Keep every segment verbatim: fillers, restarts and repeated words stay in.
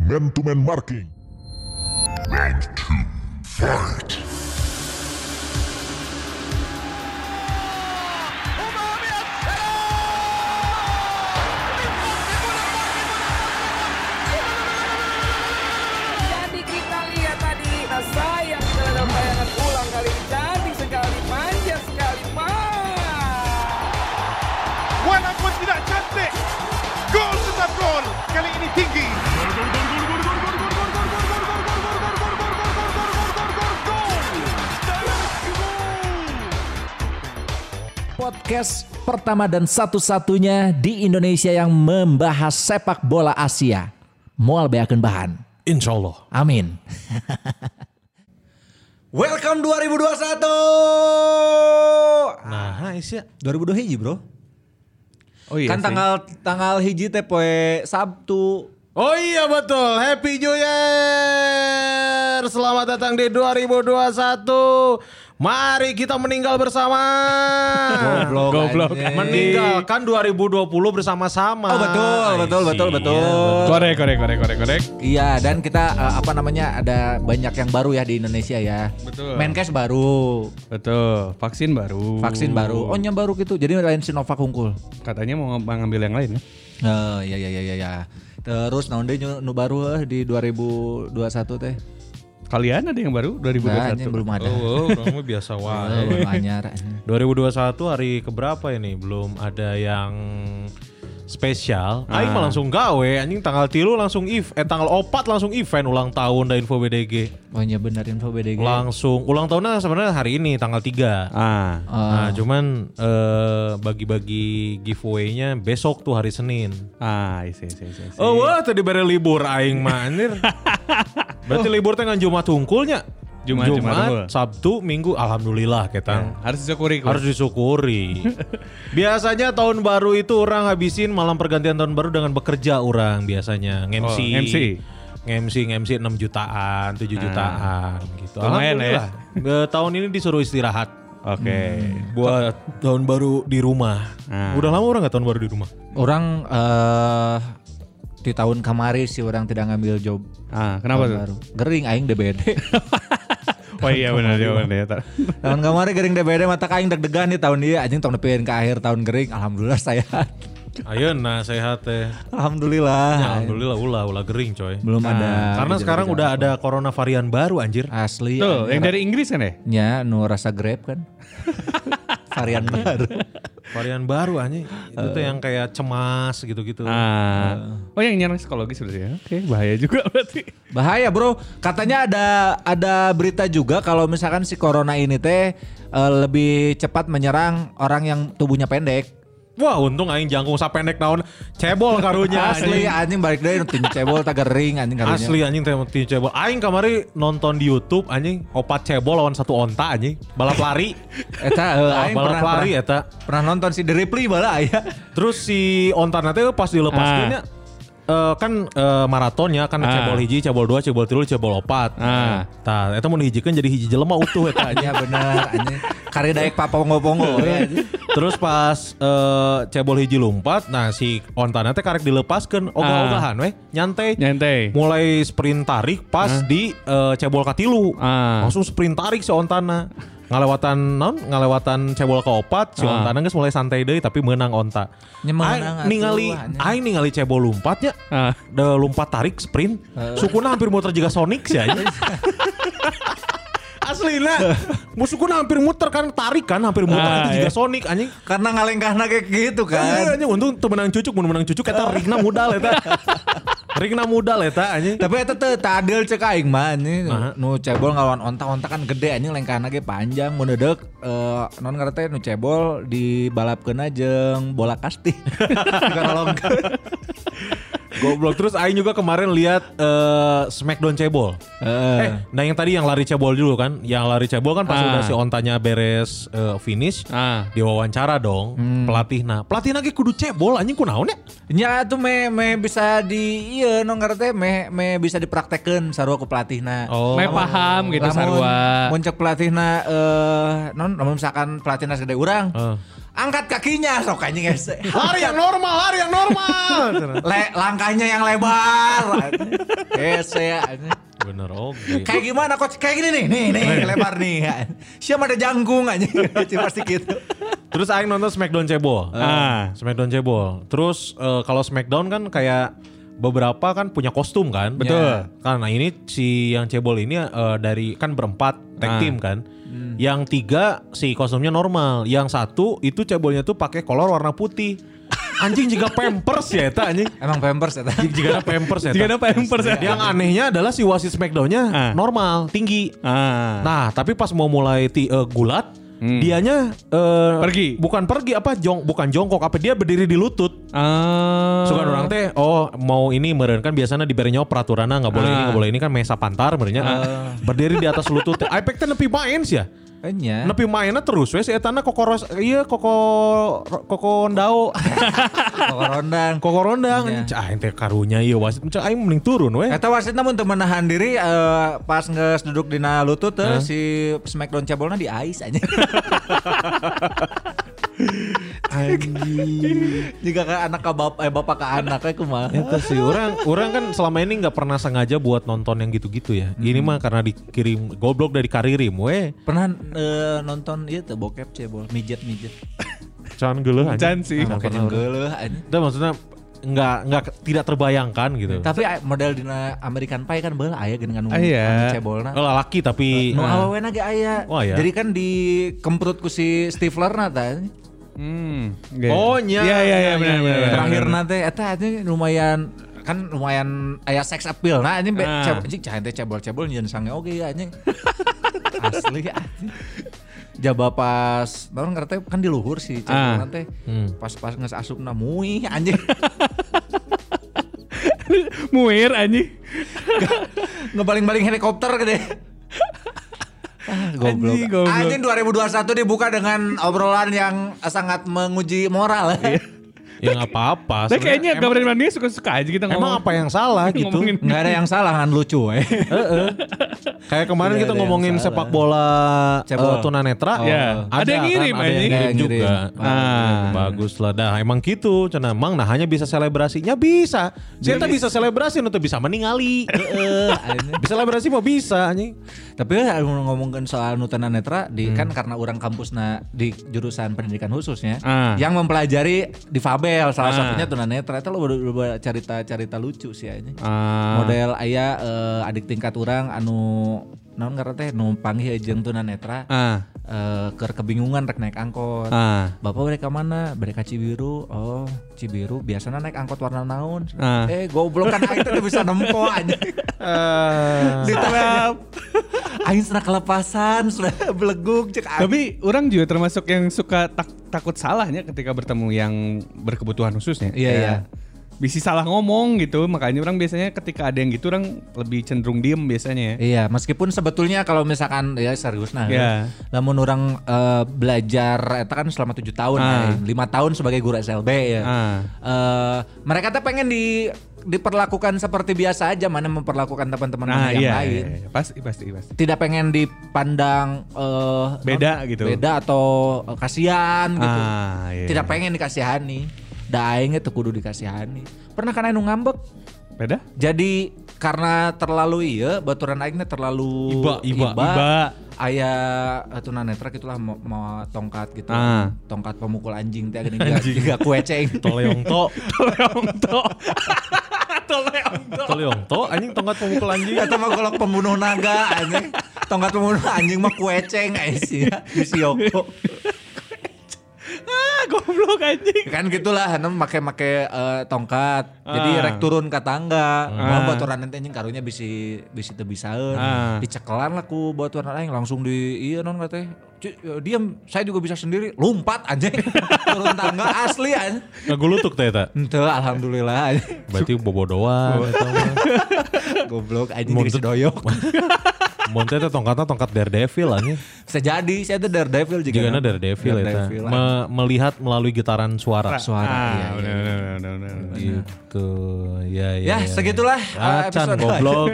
Man-to-man marking. Round two, fight! Jadi kita lihat tadi, nah sayang dalam bayangan ulang kali ini cantik sekali, manja sekali, Walaupun tidak cantik, gol tetap gol. Kali ini tinggi. Podcast pertama dan satu-satunya di Indonesia yang membahas sepak bola Asia. Moal beakeun bahan. Insyaallah. Amin. Welcome dua ribu dua puluh satu. Nah, Aisyah. dua ribu dua hiji, Bro. Oh iya. Kan sih. tanggal tanggal hiji teh poe Sabtu. Oh iya betul. Happy New Year. Selamat datang di dua ribu dua puluh satu. Mari kita meninggal bersama. Goblok. Goblok. anjing. Meninggalkan dua ribu dua puluh bersama-sama. Oh betul, betul, Aisyah. betul, betul. Korek, korek, korek, korek, korek. Iya, dan kita uh, apa namanya ada banyak yang baru ya di Indonesia ya. Betul. Menkes baru, Betul. Vaksin baru. vaksin baru. Oh, nya baru gitu. Jadi lain Sinovac unggul. Katanya mau ng- ngambil yang lain ya. Oh, iya iya iya iya ya. Terus naon deui nu baru eh, di dua ribu dua puluh satu teh? Kalian ada yang baru dua ribu dua puluh Nah, satu? ini belum ada. Oh, kamu biasa Oh, wae. belum anyar. dua ribu dua puluh satu hari keberapa ini? Belum ada yang spesial. Aing mah langsung gawe anjing tanggal tilu langsung if eh tanggal opat langsung event ulang tahun da Info B D G. Oh, nya bener info B D G. Langsung ulang tahunnya sebenarnya hari ini tanggal tiga. Ah. Nah, cuman eh, bagi-bagi giveaway-nya besok tuh hari Senin. Ah, isi, isi, isi, isi. Oh, wah tadi bare libur aing mah anjir. Berarti libur teh ngan Jumat hungkulnya. Jumat, Jumat unggul. Sabtu, Minggu, alhamdulillah kita. Harus disyukuri. Kur. Harus disyukuri. Biasanya tahun baru itu orang habisin malam pergantian tahun baru dengan bekerja orang biasanya. Nge-M C. Oh, M C. Nge-M C, nge-M C enam jutaan, tujuh jutaan gitu. Lumayan Alhamdulillah. Eh, tahun ini disuruh istirahat. Oke. Buat tahun baru di rumah. Ah. Udah lama orang gak tahun baru di rumah? Orang eh di tahun kemarin sih orang tidak ngambil job. Ah, kenapa tahun tuh? baru. Gering aing D B D. Oh iya benar ya benar. Tahun kemarin gering D B D mata aing deg-degan nih tahun dia anjing tahun depan ke akhir tahun gering alhamdulillah saya. Ayeuna sehat teh. Alhamdulillah. Ya, alhamdulillah ulah ulah gering coy. Belum Nah, ada. Karena gejala-gejala sekarang udah apa. ada corona varian baru anjir. Asli. Tuh, anjing. yang dari Inggris kan ya? nya nu rasa Grab kan. Varian baru. Varian baru anjing. Itu tuh yang kayak cemas gitu-gitu. Ah. Oh yang nyerang psikologis berarti ya? Oke, bahaya juga berarti. Bahaya bro. Katanya ada ada berita juga kalau misalkan si corona ini teh eh, lebih cepat menyerang orang yang tubuhnya pendek. Wah untung aing jangkung sapendek naon cebol karunya Asli anjing balik deui tim cebol tag gering anjing karunya. Asli anjing teh ti cebol. Aing kamari nonton di YouTube anjing opat cebol lawan satu onta anjing. Balap lari. Eta eh, Oh, aing balap pernah, lari pernah, eta. pernah nonton si The Ripley bala aya. Terus si ontana teh pas dilepaskeunnya eh, kan eh, maratonnya kan Ah. cebol hiji, cebol dua, cebol tilu, cebol opat. Ah. Tah eta mun dihijikeun jadi hiji jelema utuh eta anjing. Iya bener anjing. Kari daek papongo-pongo ya. Terus pas eh, cebol hiji lompat, nah si ontana teh karek dilepaskeun ogah-ogahan weh, nyantai. Nyantai. Mulai sprint tarik pas di eh, cebol katilu. Ah. Langsung sprint tarik si ontana. Ngalewatan non, ngalewatan cebol ke opat, si Ah. ontana geus mulai santai deui tapi menang onta. Nya menang Aing atuh, ningali anjing. aing ningali cebol lompatnya. Ah. Da lompat tarik sprint, sukuna hampir muter juga Sonic sih anjing. Aslina, musukuna hampir muter kan tarik kan hampir muter Ah, itu juga iya. Sonic anjing. Karena ngalengkahna kayak gitu Kan kan. anjing untung teu menang cucuk, mun menang cucuk eta rigna modal eta. Rigna modal eta anjing. Tapi eta teh teu adil cek aing mah anjing. Nah. Nu cebol ngelawan onta-onta kan gede anjing lengkahna ge panjang mun deudeuh eh non ngaran teh nu cebol dibalapkeun jeung bola kasti. Dikarolongkeun. Goblok. Terus aing juga kemarin lihat eh, Smackdown cebol. Heeh. Eh, nah yang tadi yang lari cebol dulu kan, yang lari cebol kan pas Ah. udah si ontanya beres eh, finish, Ah. diwawancara dong pelatihna. Pelatihna ge kudu cebol anjing kunaon ya? Nya tuh me me bisa di ieu non ngaran teh me me bisa dipraktekeun sarua ku pelatihna. Oh. Meh paham gitu sarua. Mun cek pelatihna eh non lamun misalkan pelatihna gede urang. Eh. Angkat kakinya sok anjing hese. Lari yang normal, lari yang normal. Le, langkahnya yang lebar. Hese ya. Bener oke. Kayak gimana coach? Kayak gini nih, nih, nih lebar nih. Siapa ada jangkung aja, pasti gitu. Terus aing nonton Smackdown cebol. Ah. Smackdown cebol. Terus uh, kalau Smackdown kan kayak beberapa kan punya kostum kan. Betul. Ya. Karena ini si yang cebol ini uh, dari kan berempat tag Ah. team kan. Hmm. Yang tiga si kostumnya normal. Yang satu itu cebolnya tuh pakai kolor warna putih. Anjing juga Pampers ya eta anjing. Emang Pampers ya tadi. Jika ada Pampers ya. Jika ada Pampers ya. Yang anehnya adalah si wasit Smackdown-nya Ah. normal, tinggi. Ah. Nah, tapi pas mau mulai ti, uh, gulat, Hmm. dianya uh, Pergi. Bukan pergi apa jong bukan jongkok apa dia berdiri di lutut. Ah. Suka orang teh oh mau ini meureun kan biasanya dibere nyawa peraturanna enggak boleh Ah. ini enggak boleh ini kan mesa pantar benernya. Berdiri di atas lutut. Aipek teh nepi main sih ya. Enya. Nepi mainnya terus we si etana kokoros iya koko koko ndao. Koko rondang. Koko rondang. Iya. Cah ente karunya ieu wasit cah aing mending turun we. Eta wasitna mun teu menahan diri eh, pas geus duduk dina lutut teh si Smackdown cebolna di ice aja. Anjing. Jika ke anak ke bapak eh bapak ke anak kayak kumaha. Itu sih orang orang kan selama ini nggak pernah sengaja buat nonton yang gitu-gitu ya. Ini mah karena dikirim goblok dari Karirim we. Pernah eh, nonton ieu teh bokep cebol, mijet-mijet. Can geuleuh anjing. Can sih. Nah, Make pernah. jeung geuleuh anjing. Itu maksudnya nggak nggak tidak terbayangkan gitu. Tapi eh, model dina American Pie kan beul aya geungan Ah, iya. cebolna. Oh, laki tapi Nu nah, awewena ge aya. Oh, iya. Jadi kan dikemprut ku si Stiflerna tah. Hmm. Oh, nya. Iya iya iya benar benar. benar. Terakhir nanti eta anjing lumayan kan lumayan aya sex appeal. Nah anjing be- Ah. ceb- anjing cah teh cebol-cebol nyeun sange oge ya anjing. Asli anjing. Jaba pas naon ngarete kan di luhur si cebol Ah. nanti. Hmm. Pas-pas geus asupna muih anjing. Muir anjing. Ngebaling-baling helikopter gede. Ah, goblok. Anjing, goblok. Anjing dua ribu dua puluh satu dibuka dengan obrolan yang sangat menguji moral. ya nggak apa-apa. Nah kayaknya Sebenarnya gambaran mania suka-suka aja kita emang, ngomong. emang apa yang salah gitu? Ngomongin. Nggak ada yang salah kan lucu eh. Kayak kemarin Tidak kita ada yang ngomongin salah. sepak bola Cebol. uh, tunanetra. Oh. Ya. Ada yang ngirim, kan, ada yang anjing. ngirim Ada yang juga. ngirim. Ah, bagus lah. Dah emang gitu. Cenah emang nah hanya bisa selebrasinya bisa. Kita bisa selebrasi untuk bisa meningali. Heeh. Bisa selebrasi mau bisa anjing. Tapi kan ngomongin soal nutana netra di kan karena orang kampusna di jurusan pendidikan khususnya Ah. yang mempelajari difabel salah Ah. satunya tunanetra itu lo udah cerita-cerita lucu sih aja. Ah. Model aya eh, adik tingkat orang anu naon ngaran teh nu panggih jeung tunanetra Ah. eh, keur kebingungan rek naik angkot. Ah. Bapak mereka mana? Mereka Cibiru. Oh, Cibiru biasanya naik angkot warna naon? Ah. Eh, goblok kan aing teh bisa nempo aja. Diterap. Aing sudah kelepasan, sudah beleguk cek aing. Tapi orang juga termasuk yang suka tak, takut salahnya ketika bertemu yang berkebutuhan khususnya. Iya, Ya, iya. Bisa salah ngomong gitu, makanya orang biasanya ketika ada yang gitu orang lebih cenderung diem biasanya ya. Iya, meskipun sebetulnya kalau misalkan ya serius nah, Iya. namun orang eh, belajar eta kan selama tujuh tahun, Ah. ya, lima tahun sebagai guru S L B ya. Ah. Eh, mereka tuh pengen di diperlakukan seperti biasa aja, mana memperlakukan teman-teman Nah, yang iya, lain. iya, iya. Pasti pasti pasti. Tidak pengen dipandang eh, Beda non- gitu. Beda atau eh, kasihan gitu. Ah, iya. Tidak pengen dikasihani. Da aing teh kudu dikasihani. Pernah kan anu ngambek? Beda? Jadi karena terlalu iya baturan aing teh terlalu Iba, iba, iba. Aya uh, tunanetra gitulah mau, mau tongkat gitu. Ah. Tongkat pemukul anjing teh gini juga kueceng. Toleong to. Toleong to. Toleong to. Toleong to anjing tongkat pemukul anjing. Eta mah golok pembunuh naga anjing. Tongkat pembunuh anjing mah kueceng aya sih di Sioko. Ah, goblok anjing. Kan gitulah anu make-make uh, tongkat. Jadi Ah. rek turun ke tangga. Ah. Mau baturan teh anjing karunya bisi bisi teu bisaeun. Ah. Dicekelan lah ku baturan aing langsung di ieu non teh. Diam, saya juga bisa sendiri. Lompat anjing. Turun tangga asli anjing. Ngagulutuk teh eta. Henteu alhamdulillah anjing. Berarti bobodoan eta mah. Goblok anjing Mun jadi teu- sedoyok. Mun teh teh tongkatna tongkat Daredevil anjing. Bisa jadi, saya tuh Daredevil juga. Jigana Daredevil eta. Daredevil, ah. Me- melihat melalui getaran suara. Suara, Ah, iya, bener, iya. bener, bener, bener, bener. Gitu. Ya ya. Ya, segitulah uh, Acan episode. goblok.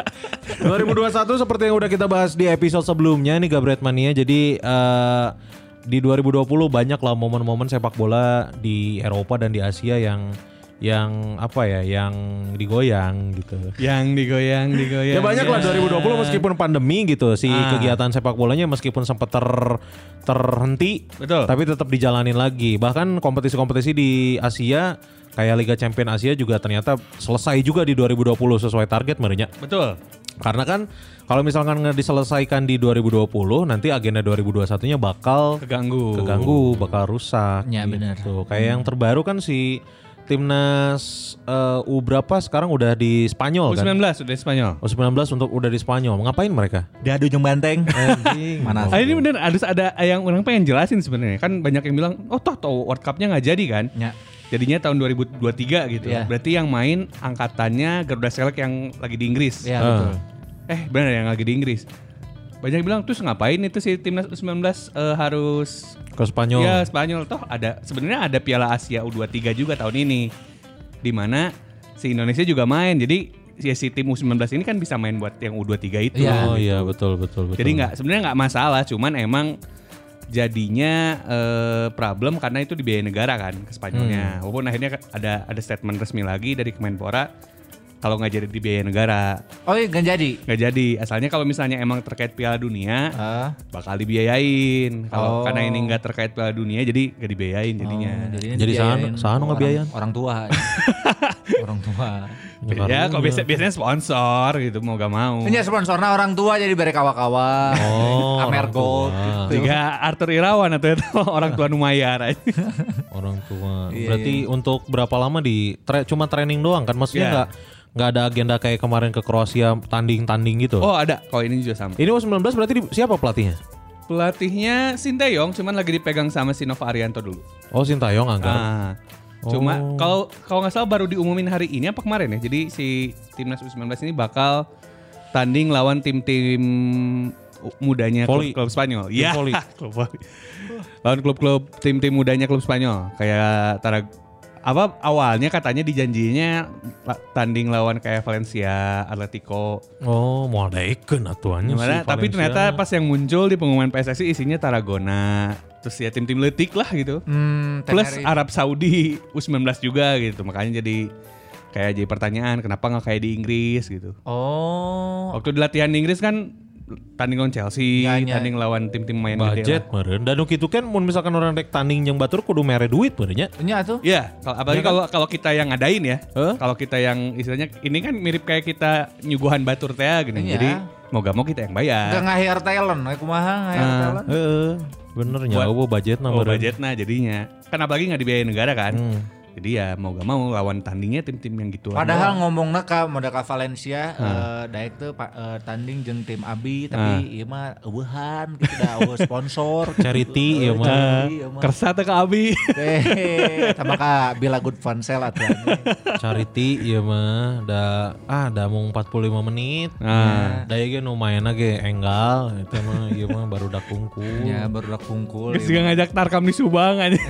dua ribu dua puluh satu seperti yang udah kita bahas di episode sebelumnya nih Gabret Mania. Jadi eh, di dua ribu dua puluh banyak lah momen-momen sepak bola di Eropa dan di Asia yang yang apa ya, yang digoyang gitu. Yang digoyang, digoyang. Ya banyak lah dua ribu dua puluh meskipun pandemi gitu si Ah. kegiatan sepak bolanya meskipun sempat ter terhenti, Betul. tapi tetap dijalanin lagi. Bahkan kompetisi-kompetisi di Asia kayak Liga Champions Asia juga ternyata selesai juga di dua ribu dua puluh sesuai target merenya. Betul. Karena kan kalau misalkan nggak diselesaikan di dua ribu dua puluh, nanti agenda dua ribu dua puluh satunya bakal Keganggu. keganggu, bakal rusak. Ya, benar. gitu. Kayak yang terbaru kan si timnas eh, U berapa sekarang udah di Spanyol U kan? sembilan belas udah Spanyol. U sembilan belas untuk udah di Spanyol. Ngapain mereka? Dia adu jeung banteng. Anjing. Mana? Ah, ini bener harus ada yang orang pengen jelasin sebenarnya. Kan banyak yang bilang, oh toh toh World Cup-nya nggak jadi kan? Ya. Jadinya tahun dua ribu dua puluh tiga gitu. Iya. Berarti yang main angkatannya Garuda Select yang lagi di Inggris. Ya, Ah. betul. Eh benar yang lagi di Inggris. Banyak yang bilang terus ngapain itu si timnas U sembilan belas eh, harus Ke Spanyol. ya Spanyol toh ada sebenarnya ada Piala Asia U dua puluh tiga juga tahun ini. Di mana si Indonesia juga main. Jadi ya, si tim U sembilan belas ini kan bisa main buat yang U dua puluh tiga itu. Iya. Oh iya betul betul betul. Jadi nggak sebenarnya nggak masalah, cuman emang jadinya eh, problem karena itu dibiayai negara kan ke Spanyolnya. Hmm. Walaupun akhirnya ada ada statement resmi lagi dari Kemenpora kalau nggak jadi dibiayai negara Oh iya nggak jadi. nggak jadi. Asalnya kalau misalnya emang terkait Piala Dunia Ah. bakal dibiayain. Kalau Oh. karena ini nggak terkait Piala Dunia jadi nggak dibiayain jadinya. Oh, jadinya Jadi dibiayain sahanu- sahanu orang- ngebiayain. Orang tua. Orang tua. Ya kalau biasa, biasanya sponsor gitu mau gak mau. Ini sponsornya orang tua jadi bere kawa-kawa. Oh, Amer orang Gold. tua. gitu. Jika Arthur Irawan atau itu orang tua numayar aja. Orang tua. Iya, Berarti untuk berapa lama di tra- cuma training doang kan? Maksudnya Iya. nggak nggak ada agenda kayak kemarin ke Kroasia tanding-tanding gitu. Oh ada, kalau ini juga sama. Ini U sembilan belas berarti di- siapa pelatihnya? Pelatihnya Sinteyong cuman lagi dipegang sama si Nova Arianto dulu. Oh Sintayong anggar. Ah. Cuma Oh. kalau kalau nggak salah baru diumumin hari ini apa kemarin ya. Jadi si timnas U sembilan belas ini bakal tanding lawan tim-tim mudanya Voli. klub, klub Spanyol. Tim Iya. voli. Klub voli. Lawan klub-klub tim-tim mudanya klub Spanyol. Kayak Tarag apa awalnya katanya dijanjinya la- tanding lawan kayak Valencia, Atletico. Oh mau ada ikan atuannya Gimana? si Tapi Valencia. ternyata pas yang muncul di pengumuman P S S I isinya Tarragona. Terus ya tim-tim letik lah gitu. Hmm, Plus Tenerife. Arab Saudi U sembilan belas juga gitu. Makanya jadi kayak jadi pertanyaan kenapa nggak kayak di Inggris gitu. Oh. Waktu di latihan di Inggris kan tanding lawan Chelsea, Ya, ya. tanding lawan tim-tim main budget gede lah. meren. Dan gitu kan mun misalkan orang rek tanding yang batur kudu mere duit merenya. Ini tuh. Iya, kalau apalagi Ya kan? kalau kalau kita yang ngadain ya. Hah? Kalau kita yang istilahnya ini kan mirip kayak kita nyuguhan batur teh gini. Iya. Jadi mau gak mau kita yang bayar. Enggak nge-hire talent, kayak kumaha nge-hire Ah. talent. Heeh. Bener nya Buat- eueuh budgetna Oh, meren. budgetnya jadinya. Kan apalagi nggak dibiayai negara kan. Hmm. Jadi ya mau gak mau lawan tandingnya tim-tim yang gitu. Padahal ngomongna ka modal ka Valencia eh daek teh pa- eh, tanding jeung tim Abi tapi ieu mah eueuhan gitu da eueuh sponsor Charity ieu mah. Charity, ieu mah. Kersa teh ke Abi. Teh sama ka Bila Good Fun Sale atuh anjing. Charity ieu mah da ah da mung empat puluh lima menit. Nah. Da ieu ge nu maenna ge enggal eta mah ieu mah baru dak kungkul. Ya baru dak kungkul. Geus juga ngajak Tarkam di Subang aja.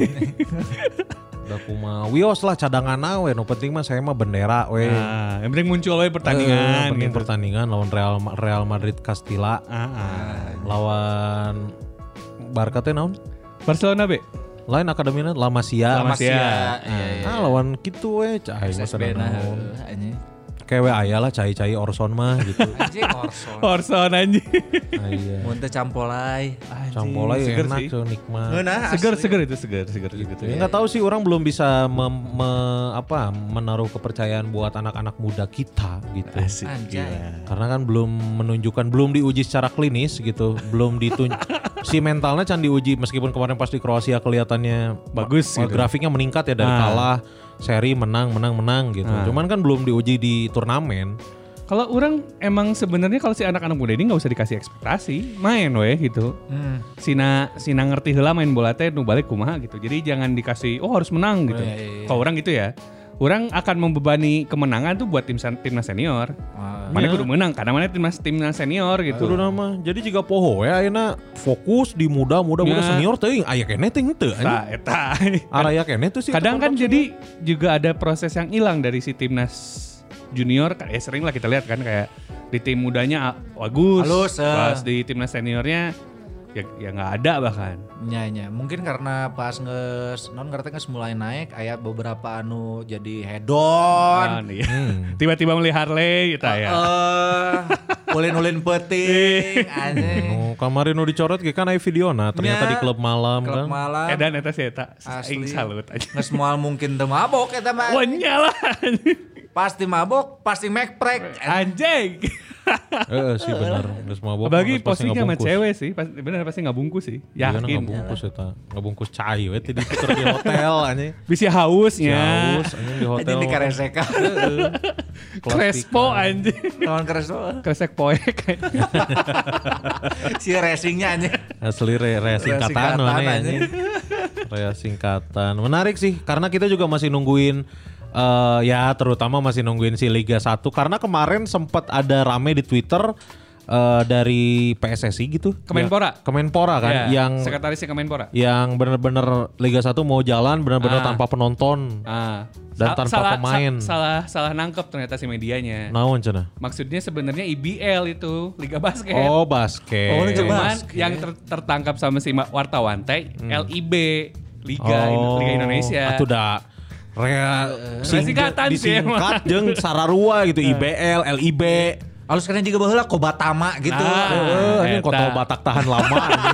Da kumaha wios lah cadangan we nu penting mah saya mah bendera we. Nah, yang penting muncul we Eh, pertandingan penting gitu. pertandingan lawan Real Real Madrid Castilla. Ah, ah. Lawan Barca teh naon? Barcelona be. Lain akademina La Masia. La Masia. Iya, iya. Ah lawan kitu we cai mah S S B sadana nah naon. heuh, anjing. Kayak we aya lah cai-cai Orson mah gitu. Anjing Orson. Orson anjing. Ah, iya. Mun teh campolai. Campolai Seger enak sih. tuh nikmat. Ngeunah Seger asli. seger itu seger seger gitu. Ya nggak tahu sih orang belum bisa mem- me- apa menaruh kepercayaan buat anak-anak muda kita gitu. Asik. Anjay. Karena kan belum menunjukkan, belum diuji secara klinis gitu, belum ditun si mentalnya can diuji meskipun kemarin pas di Kroasia kelihatannya Bagus ma- gitu. grafiknya meningkat ya dari Ah. kalah seri menang menang menang gitu. Ah. Cuman kan belum diuji di turnamen. Kalau orang emang sebenarnya kalau si anak-anak muda ini nggak usah dikasih ekspektasi, main weh gitu. Hmm. Sina Sina ngerti heula main bola teh nu balik kumaha gitu. Jadi jangan dikasih oh harus menang gitu. Iya, iya, iya. Kalau orang gitu ya. Orang akan membebani kemenangan tuh buat tim timnas senior. Ah, Mana Iya. kudu menang karena mana timnas timnas senior gitu. Kudu nama. Jadi jika poho ya ayeuna fokus di muda muda muda Ya. senior teuing aya keneh teh henteu anjing. Tah eta. Araya keneh tuh sih. Kadang kan tetep- jadi juga ada proses yang hilang dari si timnas junior. Ya sering lah kita lihat kan kayak di tim mudanya bagus, Halus, eh. pas di timnas seniornya ya ya nggak ada bahkan. Nya nya mungkin karena pas nges non ngerti nges mulai naik aya beberapa anu jadi hedon. Ah, iya. Tiba-tiba melihat Harley gitu ya. Eh, ulin-ulin peuting anjing. Oh, kemarin nu dicorot ge kan aya videona ternyata Nya, di klub malam Klub kan. malam. Edan eta sih eta. Asli. Aing salut aja. Nges moal mungkin teu mabok eta mah. Wah nyala. Pasti mabok, pasti mekprek. Anjing. Heeh sih bener. Geus mabok. Apalagi geus pasti posisinya sama ngabungkus. cewek sih, pas, bener pasti nggak bungkus sih. Iya, Yakin. ngabungkus eta. Ngabungkus cai we teh di tuker di hotel anjing. Bisa hausnya. Haus anjing di hotel. Anjing di kareseka. Crespo anjing. Lawan Krespo. Kresek poek. Si racingnya anjing. Asli re, re singkatan Singkatan, mana ya anjing. Rea singkatan. Menarik sih karena kita juga masih nungguin eh ya terutama masih nungguin si Liga satu karena kemarin sempat ada rame di Twitter eh dari P S S I gitu. Kemenpora. Ya, Kemenpora kan Ya, yang sekretarisnya Kemenpora. yang bener-bener Liga satu mau jalan bener-bener Ah. tanpa penonton. Ah. Dan tanpa salah, pemain. sa- salah salah nangkep ternyata si medianya. Naon cenah? Maksudnya sebenarnya I B L itu Liga Basket. Oh, basket. Oh, Liga Cuman basket. yang ter- tertangkap sama si ma- wartawan teh L I B Liga Oh, Liga Indonesia. Atuh da rea Singkatan sih disingkat jeung sararua gitu I B L, L I B. Alus kena juga baheula Kobatama gitu. Nah. Heeh, anjing Eta. kontol Batak tahan lama anjing.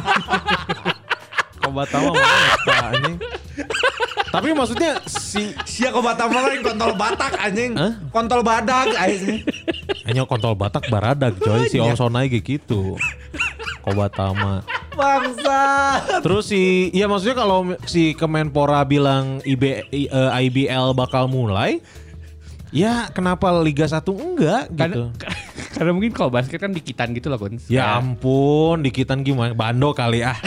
Kobatama mah eta anjing. Tapi maksudnya si Sia Kobatama lain kontol Batak anjing. Hah? Kontol badag anjing. hanya kontol Batak baradag coy si Onsona ge gitu. Kobatama. Bangsa. Terus si ya maksudnya kalau si Kemenpora bilang I B I, eh, I B L bakal mulai, ya kenapa Liga satu enggak gitu? Karena, karena mungkin kalau basket kan dikitan gitu loh Kun. Ya ampun, dikitan gimana? Bando kali ah.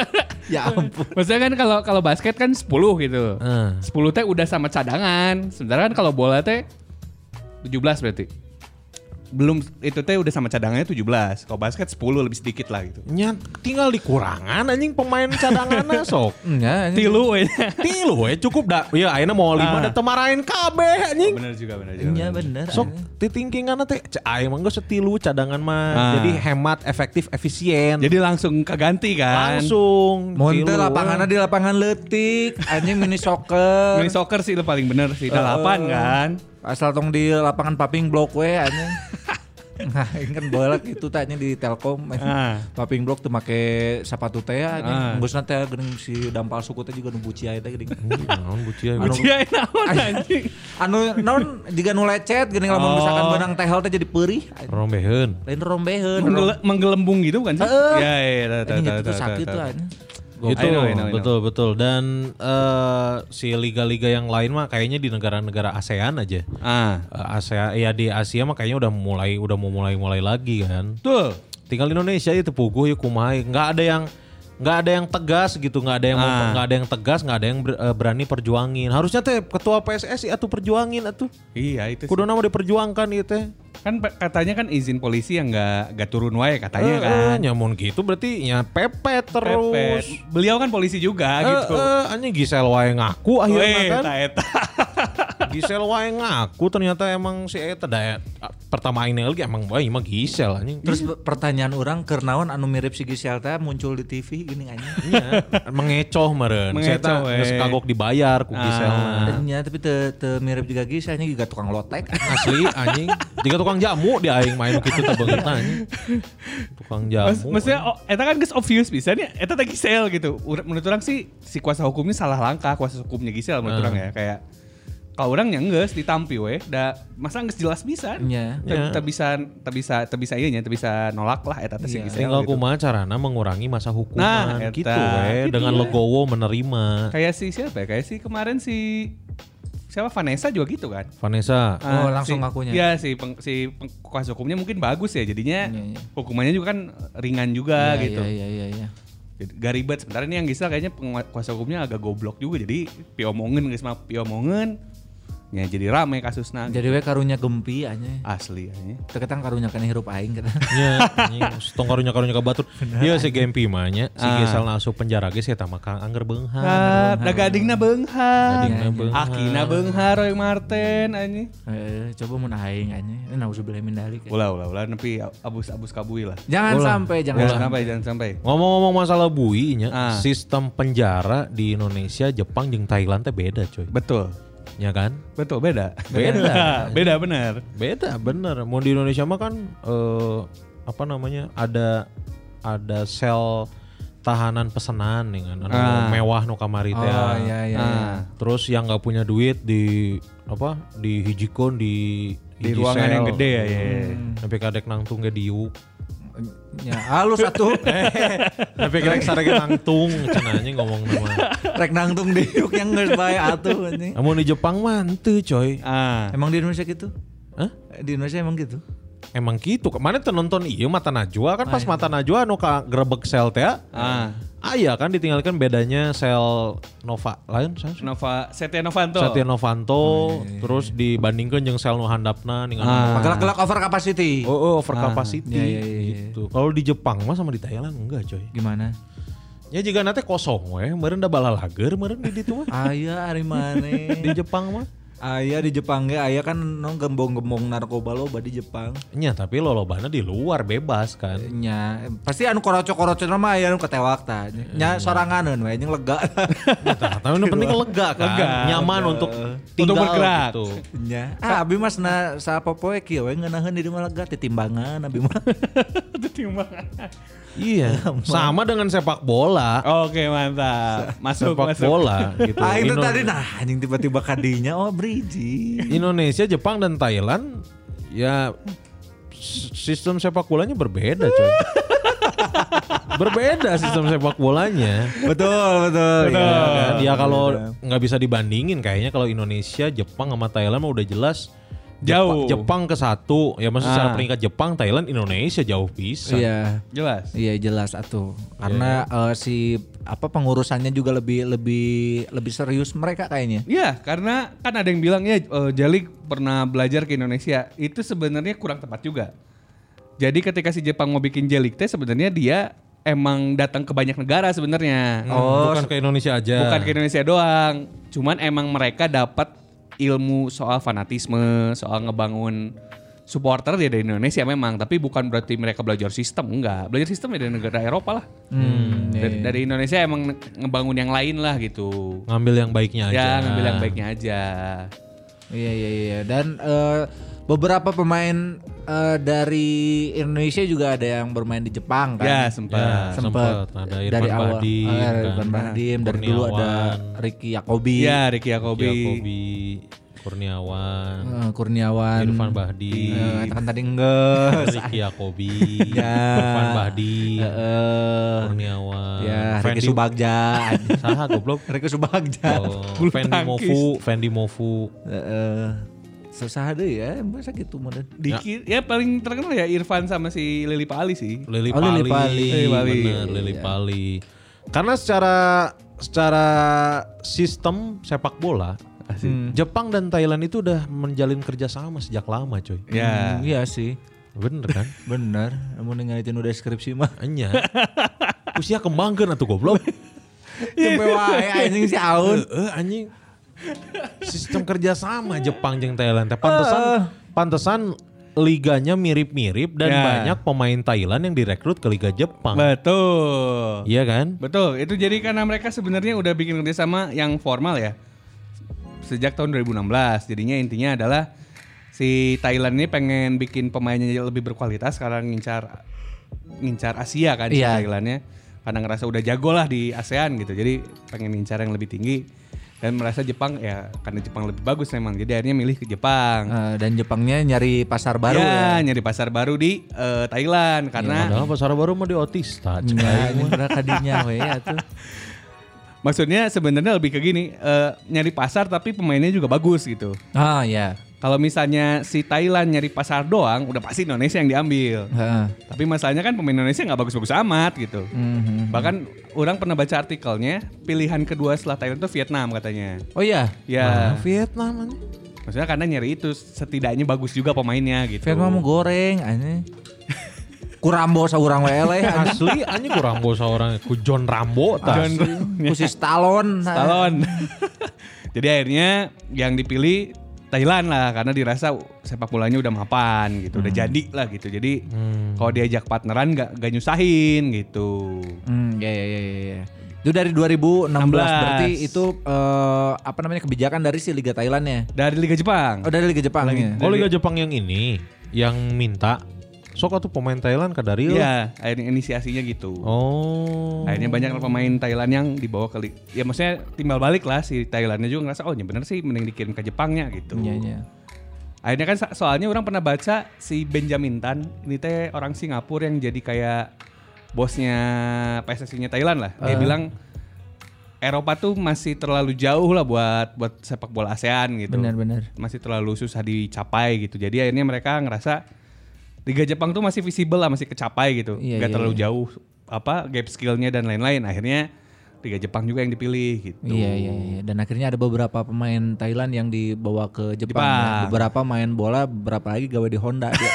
Ya ampun. Maksudnya kan kalau kalau basket kan sepuluh gitu. Eh. sepuluh teh udah sama cadangan. Sementara kan kalau bola teh tujuh belas berarti. Belum itu teh udah sama cadangannya tujuh belas. Kalau basket sepuluh lebih sedikit lah gitu. Nya tinggal dikurangan anjing pemain cadanganna sok. Nya anjing. Tilu we. Tilu we cukup dah. Ya ayeuna mau lima Ah. da teu marahin kabeh anjing. Bener juga bener juga. Nya bener. Sok titingkinganna teh cek aing mah geus tilu cadangan mah. Ah. Jadi hemat, efektif, efisien. Jadi langsung keganti kan. langsung Mun teu tilu, lapanganna we. di lapangan leutik, anjing mini soccer. Mini soccer sih itu paling bener sih. delapan kan. Asal tong di lapangan paping blok we anjing. Nah, ini kan bola gitu tanya di Telkom. Ah. Paping blok tuh make sepatu teh anjing. Ah. Geusna teh geuning si dampal suku teh juga nu buci aya teh geuning. Naon bucia. Anu- Ujian naon anjing. Anu naon jiga nu lecet geuning lamun Oh. misalkan benang tehel teh jadi peurih. Rombeheun. Lain rombeheun. Menggele- menggelembung gitu bukan sih? Heeh. Ya ya Anjing itu tuh sakit tuh anjing. Itu I know, I know, I know. betul betul dan eh, si liga-liga yang lain mah kayaknya di negara-negara ASEAN aja. Ah. Eh, ASEAN ya di Asia mah kayaknya udah mulai udah mau mulai-mulai lagi kan. Betul. Tinggal Indonesia itu puguh ya kumaha, nggak ada yang nggak ada yang tegas gitu, nggak ada yang mau- Ah. nggak ada yang tegas, nggak ada yang ber- eh, berani perjuangin. Harusnya teh ketua P S S I atuh perjuangin atuh. Iya itu sih. Kudu nama diperjuangkan ieu teh. Kan pe- katanya kan izin polisi yang nggak nggak turun wae katanya Eh, kan. eh, nyamun gitu berarti ya pepet terus. Pepet. Beliau kan polisi juga Eh, gitu. eh, anjing Gisel wae ngaku akhirnya Weh, kan. eta eta. Gisel wae ngaku ternyata emang si eta da pertama ini lagi emang bae mah Gisel anjing. Terus pertanyaan orang keur naon anu mirip si Gisel teh muncul di T V gini anjing. Iya, mengecoh meureun. Si eta Mengecoh, we. geus kagok dibayar ku Ah. Giselna. Nya tapi teu teu mirip juga Gisel nya juga tukang lotek. Asli anjing. Jika tukang jamu di aing main kitu teh beungeut anjing. Tukang jamu. Mas, maksudnya oh, eta kan geus obvious bisa nih. Eta teh Gisel gitu. Ur- Menurut orang sih si kuasa hukumnya salah langkah, kuasa hukumnya Gisel menurut Ah. orang ya kayak kalau orang yang geus ditampi we, da masa geus jelas bisa. Nya. Ya. Tak bisa tak bisa tak bisa ieu nya, tak bisa nolak lah eta teh si Iya. Gisel. Tinggal gitu. kumaha carana mengurangi masa hukuman Nah, gitu eta. we Itu dengan dia. legowo menerima. Kayak si siapa ya? Kayak si kemarin si siapa Vanessa juga gitu kan. Vanessa. Oh, Ah, langsung si, ngakunya. Iya si peng, si peng, kuasa hukumnya mungkin bagus ya jadinya Iya, iya. hukumannya juga kan ringan juga Iya, gitu. Iya iya iya iya. Jadi gak ribet. Sementara ini yang Gisel kayaknya pengua- kuasa hukumnya agak goblok juga jadi piomongin guys mah piomongin Ya jadi rame kasusna. Jadi we karunya gempi anya. Asli anya. Teu ketang karunya kana hirup aing kita. Nya, anjing stong karunya-karunya ka batur. Ieu si Gempi mah nya, si Ah. Gisel asup penjara ge eta mah Kang Angger beunghar. Ah, da gadingna beunghar. Gadingna beunghar. Akina beunghar Roy Marten anjing. Heeh, coba mun aing anya. Nauzubillah min dalik. Ulah ulah ulah nepi abus-abus kabui lah. Jangan Ulah. sampai, jangan Jangan sampai. sampai jangan sampai. Ngomong-ngomong masalah bui nya, Ah. sistem penjara di Indonesia, Jepang jeung Thailand teh beda coy. Betul. Ya kan? Betul beda. Beda. beda benar. Beda bener. Mau di Indonesia mah kan eh, apa namanya? Ada ada sel tahanan pesanan nih kan. Anu Ah. mewah nu kamari teh. Oh iya iya. Ah. iya. Terus yang nggak punya duit di apa? Di hijikon di Di hiji ruangan sel. yang gede ya. ya. Sampai kadek nangtung ge diuk. Ya, halus atuh. Sampai kadek sarege nangtung cenanya ngomong nama. Rek nangtung diuk yang geus bae atuh anjing. Namun di Jepang mah henteu coy. Ah. Emang di Indonesia gitu? Hah? Di Indonesia emang gitu? Emang gitu. Mana teu nonton ieu Mata Najwa kan pas Mata Najwa anu ka grebek sel teh. Ah. Aya kan ditinggalkan bedanya sel Nova lain saya Nova Setia Novanto. Setia Novanto terus dibandingkan jeung sel nu handapna ningali Ah. Gelak-gelak over capacity. oh, oh over capacity Iya, iya, iya. gitu. Kalau di Jepang mah sama di Thailand enggak coy. Gimana? Ya jika nanti kosong we, meureun da balalager meureun di ditu mah. Aya ari maneh. Di Jepang mah. Aya di Jepang ge aya kan no gembong-gembong narkoba loba di Jepang. Nya tapi lolobana di luar bebas kan. Nya pasti anu koroco-koroco mah aya anu ketewak tah. Nya soranganeun we jeung lega. Nah, tapi yang penting lega kan, Lega, nyaman untuk tinggal bergerak. gitu. Nya. Ah abi mas na sapopoe kieu we ngeunaheun di rumah lega titimbangan abi mah. Iya, sama dengan sepak bola. Oke mantap. Masuk Sepak masuk. bola gitu. Ah itu Indo- tadi nah anjing tiba-tiba kadinya oh briji. Indonesia, Jepang dan Thailand ya s- sistem sepak bolanya berbeda coy. Berbeda sistem sepak bolanya. Betul betul. Ya, kan? Ya kalau Betul. nggak bisa dibandingin kayaknya kalau Indonesia, Jepang sama Thailand mah udah jelas Jauh. Jepang, Jepang ke satu. Ya maksudnya secara Ah. peringkat Jepang, Thailand, Indonesia jauh bisa. Iya. Jelas. Iya jelas atuh. Karena eh, si apa pengurusannya juga lebih lebih lebih serius mereka kayaknya. Iya, karena kan ada yang bilang ya eh, Jalik pernah belajar ke Indonesia. Itu sebenarnya kurang tepat juga. Jadi ketika si Jepang mau bikin Jalik teh sebenarnya dia emang datang ke banyak negara sebenarnya. Oh, bukan ke Indonesia aja. Bukan ke Indonesia doang. Cuman emang mereka dapat ilmu soal fanatisme, soal ngebangun supporter ya dari Indonesia memang, tapi bukan berarti mereka belajar sistem, enggak. Belajar sistem ya dari negara Eropa lah. Hmm, Dari, dari Indonesia emang ngebangun yang lain lah gitu. Ngambil yang baiknya aja. Ya ngambil yang baiknya aja. Iya iya iya dan eh, beberapa pemain eh, dari Indonesia juga ada yang bermain di Jepang kan. Ya Ya, sempat. sempet. Ada Irfan dari awal Bahdim, eh, kan. Irfan Bahdim dari dulu ada Kurniawan. Ricky Yakobi, Ya Ricky Yakobi. Yakobi, Kurniawan, eh, Kurniawan, Irfan Bahdim, eh, kan tadi enggak. Ricky Yakobi, Ya. Irfan Bahdim, Eh, Kurniawan, ya Ricky Fendi- Subagja. Saha goblok. Ricky Subagja. Oh, Bulu Fendi tangkis. Mofu, Fendi Mofu. Heeh. Susah deh ya, masa gitu model. Dikit, ya. paling terkenal ya Irfan sama si Lili Pali sih. Lili Oh, Pali, Lili Pali. Lili Pali. bener, Lili Pali. Karena secara secara sistem sepak bola, Hmm. Jepang dan Thailand itu udah menjalin kerjasama sejak lama, coy. Ya. Hmm, iya sih. Bener kan? Bener, namun ngeliatin udah skripsi mah. Enya. Usia kembangkan atuh goblok. Cepet wae anjing si Aun. Heeh, anjing. Sistem kerjasama Jepang jeung Thailand teh pantesan pantesan liganya mirip-mirip dan Ya. banyak pemain Thailand yang direkrut ke Liga Jepang. Betul. Iya kan? Betul, itu jadi karena mereka sebenarnya udah bikin kerjasama yang formal ya. Sejak tahun dua ribu enam belas, jadinya intinya adalah si Thailand ini pengen bikin pemainnya lebih berkualitas karena ngincar ngincar Asia kan si Iya. Thailandnya. Karena ngerasa udah jago lah di ASEAN gitu, jadi pengen ngincar yang lebih tinggi. Dan merasa Jepang ya karena Jepang lebih bagus memang, jadi akhirnya milih ke Jepang. Eh, dan Jepangnya nyari pasar baru ya, ya. nyari pasar baru di eh, Thailand karena Padahal pasar baru mah di Otista. cek Nah, aing ini mah. pernah kadinya we ya tuh. maksudnya sebenarnya lebih ke gini, eh, nyari pasar tapi pemainnya juga bagus gitu. Ah ya. Kalau misalnya si Thailand nyari pasar doang, udah pasti Indonesia yang diambil. Heeh. Tapi masalahnya kan pemain Indonesia nggak bagus-bagus amat gitu. Mhm. Bahkan orang pernah baca artikelnya, pilihan kedua setelah Thailand itu Vietnam katanya. Oh iya. Ya, Nah, Vietnam anjing. Maksudnya karena nyari itu setidaknya bagus juga pemainnya gitu. Fan mah mau goreng anjing. Kurambo saurang we eleh anjing. Asli anjing ku Rambo seorang ku John Rambo tah. Ku si Stallone. Stallone. Jadi akhirnya yang dipilih Thailand lah karena dirasa sepak bolanya udah mapan gitu, udah jadi lah gitu. Jadi Hmm. kalau diajak partneran gak, gak nyusahin gitu. Hmm, ya ya ya ya. Itu dari dua ribu enam belas enam belas. berarti itu eh, apa namanya kebijakan dari si Liga Thailandnya. Dari Liga Jepang. Oh dari Liga Jepang ya. Oh Liga Jepang yang ini yang minta sok atuh pemain Thailand ke dari Iya, akhirnya inisiasinya gitu. Oh. Akhirnya banyak pemain Thailand yang dibawa ke li- ya maksudnya timbal balik lah si Thailandnya juga ngerasa oh ya bener sih mending dikirim ke Jepangnya gitu. Iya iya. Akhirnya kan so- soalnya orang pernah baca si Benjamin Tan ini teh orang Singapura yang jadi kayak bosnya P S S I-nya Thailand lah. Dia Uh. bilang Eropa tuh masih terlalu jauh lah buat buat sepak bola ASEAN gitu. Benar-benar. Masih terlalu susah dicapai gitu. Jadi akhirnya mereka ngerasa Liga Jepang tuh masih visible lah, masih kecapai gitu. Iya, Gak iya, terlalu iya. jauh apa gap skillnya dan lain-lain. Akhirnya Liga Jepang juga yang dipilih gitu. Iya iya iya. Dan akhirnya ada beberapa pemain Thailand yang dibawa ke Jepang. Jepang. Ya. Beberapa main bola, beberapa lagi gawe di Honda dia.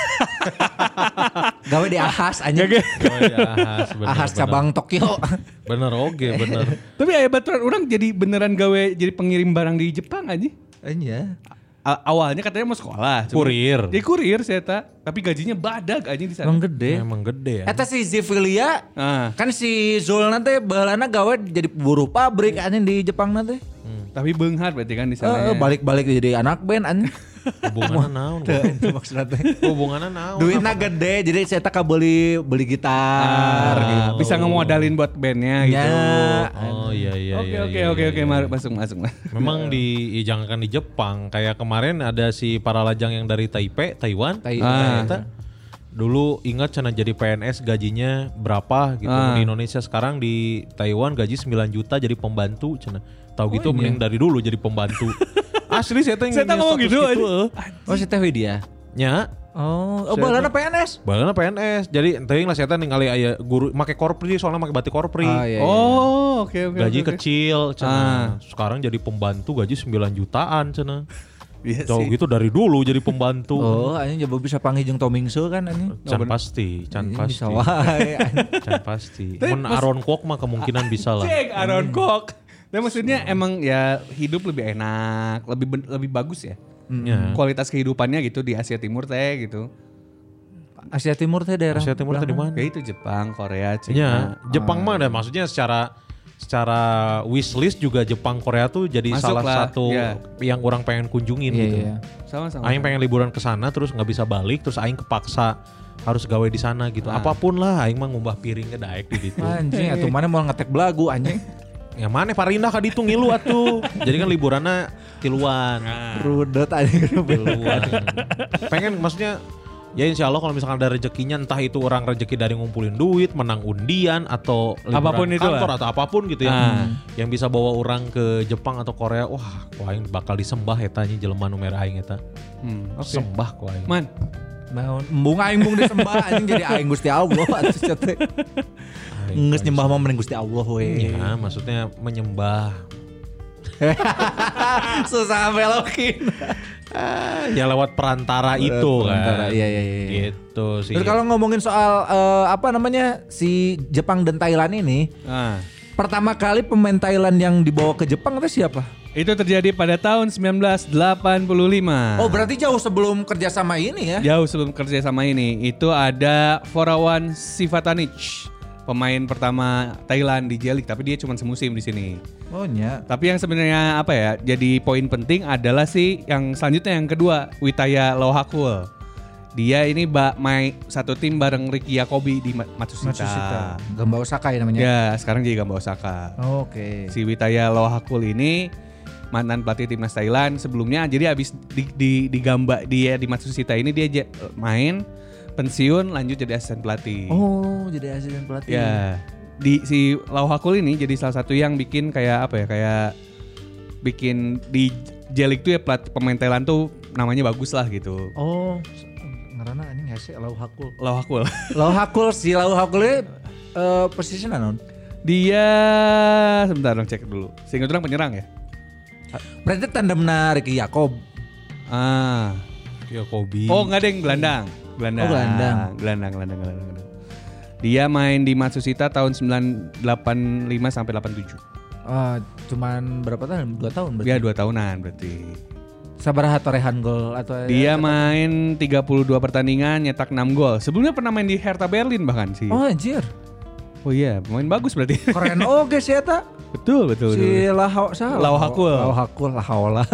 Gawe di Ahas anjing. Oh, ya, Ahas, bener, Ahas bener. cabang Tokyo. Bener oke bener. Tapi hebat orang jadi beneran gawe jadi pengirim barang di Jepang aja. Iya. A- awalnya katanya mau sekolah. cuma- Kurir. Dia kurir saya tak. Tapi gajinya badag aja di sana. Emang gede. Emang gede ya. Eta si Zivilia Ah, kan si Zul nanti bahalana gawe jadi buruh pabrik anjing di Jepang nanti. tapi beunghar berarti kan di sana. Eh, ya. balik-balik jadi anak band anjing. Hubungannya naon? Teu, itu maksudnya teh. Hubungannya naon? Duitnya gede jadi saya tak beli beli gitar Ah, gitu. bisa ngemodalin buat bandnya gitu. Ya. Oh iya iya Oke iya. oke iya, oke iya, oke iya. mari, masuk masuk. Memang di ya, jangankan di Jepang, kayak kemarin ada si para lajang yang dari Taipei, Taiwan. Tai- Ah. Ternyata dulu ingat cina jadi P N S gajinya berapa gitu. Ah. Di Indonesia sekarang di Taiwan gaji sembilan juta jadi pembantu cina. Tahu gitu iya. mending dari dulu jadi pembantu. Asli saya teh Saya tak ngomong gitu aja. eh. Oh si Teh Widya. Nya Oh, oh Saya bahalana P N S. balana P N S. Jadi teuing lah saya teh ningali aya guru make korpri soalnya make batik korpri. Oh iya. iya. Oh, oke oke. Gaji oke, oke. kecil Ah. cenah. Sekarang jadi pembantu gaji sembilan jutaan cenah. Iya Jauh sih. gitu dari dulu jadi pembantu. Oh, anjing coba bisa panggil jeung Tomingsu kan anjing. Can pasti, can Anjing pasti. Bisa wae. anjing. Can pasti. Tapi Mun mas- Aaron Kwok mah kemungkinan bisa lah. Cek Aaron Kwok. Tapi maksudnya emang ya hidup lebih enak, lebih ben- lebih bagus ya. Ya. Kualitas kehidupannya gitu di Asia Timur teh gitu. Asia Timur teh daerah. Asia Timur tadi mana? Kayak itu Jepang, Korea, Ya, Cina. Jepang mah ada maksudnya secara secara wishlist juga Jepang Korea tuh jadi Masuk salah lah, satu iya. yang orang pengen kunjungin Iya gitu. iya. Sama-sama. Aing pengen liburan ke sana terus nggak bisa balik terus aing kepaksa harus gawe di sana gitu. Ah. Apapun lah aing mah ngumbah piring ke daek di ditu. Anjing atuh mana mau ngetek belagu anjing. Yang mana Parindah ka ditu ngilu atuh. Jadi kan liburannya tiluan. Rudet anjing. Tiluan. Pengen maksudnya ya insya Allah kalau misalkan ada rezekinya entah itu orang rezeki dari ngumpulin duit, menang undian atau liburan Apapun itu kantor lah. atau apapun gitu ya. Ah. Yang bisa bawa orang ke Jepang atau Korea, wah, ku aing bakal disembah eta nya jelema nu mere aing eta. Hmm, oke. Sembah ku aing. Man, Naon embung aing bung disembah anjing jadi aing Gusti Allah atuh teh. Aing Geus nyembah mah mending Gusti Allah we. Ya, maksudnya menyembah. Susah belokin. Ah, ya lewat perantara itu perantara, kan. iya, iya, iya. Gitu sih. Terus kalau ngomongin soal eh, apa namanya si Jepang dan Thailand ini, ah. pertama kali pemain Thailand yang dibawa ke Jepang itu siapa? Itu terjadi pada tahun sembilan belas delapan puluh lima. Oh berarti jauh sebelum kerjasama ini ya? Jauh sebelum kerja sama ini, itu ada Forawan Sivatanich, pemain pertama Thailand di J League, tapi dia cuma semusim di sini. Oh nya. Tapi yang sebenarnya apa ya, jadi poin penting adalah sih yang selanjutnya yang kedua, Witaya Lohakul. Dia ini bak main satu tim bareng Ricky Yakobi di Ma- Matsushita. Matsushita. Gamba Osaka ya namanya. Ya, sekarang jadi Gamba Osaka. Oke. Si Witaya Lohakul ini mantan pelatih timnas Thailand sebelumnya, jadi abis di, di, di Gamba dia di Matsushita ini dia j- main pensiun lanjut jadi asisten pelatih. Oh jadi asisten pelatih. Ya, di si Lohakul ini jadi salah satu yang bikin kayak apa ya, kayak bikin di J League tuh ya pelatih pemain Thailand tuh namanya bagus lah gitu. Oh ngarana anjing hese Lau Hakul. Lohakul. Lau Hakul si Lau Hakul eh posisi naon? Dia sebentar dong cek dulu. Sehingga orang penyerang ya. Berarti tandemna Ricky Yakob. Ah. Ya Kobe. Oh enggak deng, gelandang. Gelandang. Oh, gelandang. Gelandang, gelandang, gelandang, gelandang. Dia main di Matsushita tahun sembilan delapan lima sampai delapan tujuh. Oh, cuman berapa tahun? Dua tahun berarti. Dia dua tahunan berarti. Sabaraha torehan gol atau Dia main tiga puluh dua pertandingan, nyetak enam gol. Sebelumnya pernah main di Hertha Berlin bahkan sih. Oh anjir. Oh iya, pemain bagus berarti. Keren oke sih eta. betul, betul, Si betul. Lau salah. Lau Hakul. Lau Hakul, Lahaula.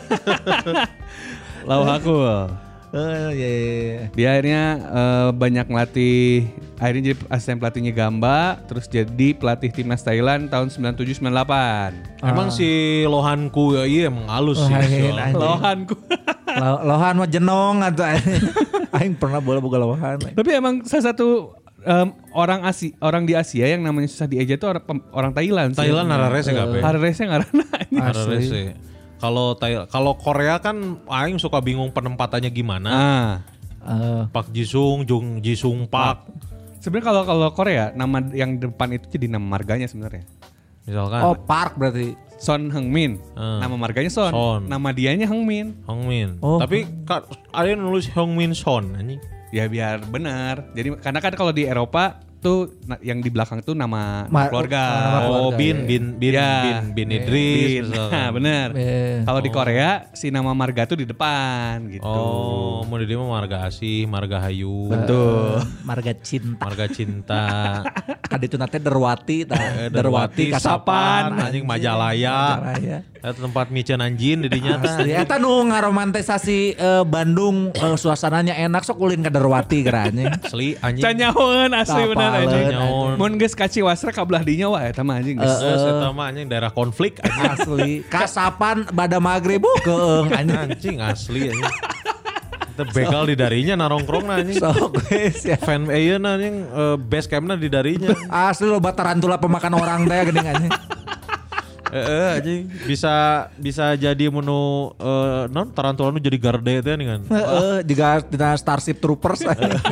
Lau Hakul. Oh iya, iya, iya. Dia akhirnya eh, banyak ngelatih, akhirnya jadi asisten pelatihnya Gamba, terus jadi pelatih timnas Thailand tahun sembilan tujuh sembilan delapan. Emang si Lohanku ya iya emang halus sih. Lohan, soalnya. anjing. Lohanku. Lo- Lohan mah jenong atau aing pernah bola boga Lohan. Tapi emang salah satu em, orang Asia, orang di Asia yang namanya susah dieja itu orang, pem- orang Thailand. sih. Thailand Hararese kabeh. Hararese ngaranna. Hararese. Kalau Thai- kalau Korea kan aing suka bingung penempatannya gimana. Ah. Eh, Pak Jisung, Jung Jisung Pak. Sebenarnya kalau kalau Korea nama yang depan itu jadi nama marganya sebenarnya. Misalkan oh Park berarti. Son Heung-min. Hmm. Nama marganya Son. Son. Nama dianya Heung-min. Hongmin. Oh. Tapi ka- ada yang nulis Hongmin Son anjing. Ya biar benar. Jadi karena kan kalau di Eropa tuh na- yang di belakang tuh nama Ma- keluarga. nama Oh, keluarga, Bin, ya. Bin, Bin, Ya. Bin, Bin Idris. Bin. misalkan. Nah, bener. Eh. Kalau di Korea si nama marga tuh di depan gitu. Oh, mau di dia mah Marga Asih, Marga Hayu. Betul. Marga Cinta. Marga Cinta. Kaditu nate Derwati tah. Eh, Derwati Kasapan anjing Majalaya. Majalaya. Eta tempat miceun anjing di dinya tah. Asli eta nu ngaromantisasi eh, Bandung eh, suasananya enak sok ulin ka Derwati geranya. Asli anjing. Canyahoan asli Tapaleun, bener anjing. anjing. Mun geus kaci wasra kabelah dinya wah eta mah anjing. geus. Geus eta mah anjing daerah konflik anjing. Asli. Kasapan bada maghrib keung anjing. Anjing asli anjing. Kita begal di darinya narongkrong anjing. Sok wes ya. Fan ayeuna anjing eh, base campna di darinya. Asli loba tarantula pemakan orang teh geuning anjing. Heeh anjing bisa bisa jadi menu eh, non tarantula nu jadi garde teh kan. Heeh, juga dina Starship Troopers.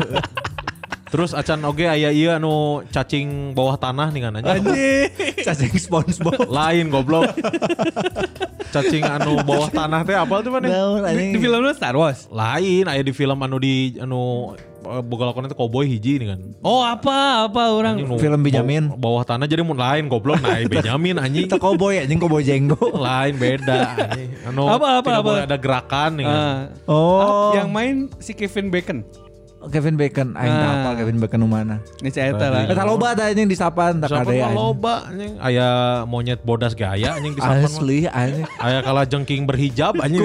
Terus acan oge aya ieu anu cacing bawah tanah nih kan anjing. Anjing. Cacing SpongeBob. Lain goblok. Cacing anu bawah tanah teh apa tuh mana? Naon, Di, anjing. di film lu Star Wars. Lain aya di film anu di anu eh, boga lakonan teh cowboy hiji nih kan. Oh apa apa orang Anjing nu Film Benjamin. baw- Bawah tanah jadi mun lain goblok nah Benjamin anjing. Itu cowboy anjing cowboy jenggo. Lain beda anjing. Anu Apa, apa, tidak apa? boleh ada gerakan nih kan. Ah. Oh. yang main si Kevin Bacon. Kevin Bacon, aing Ah. teu hafal Kevin Bacon nu mana. Ini cerita lah. Eta loba da anjing di sapan tak Siapa ade mah anjing. loba anjing aya monyet bodas gaya anjing di sapan mah. Asli anjing. Aya kala jengking berhijab anjing.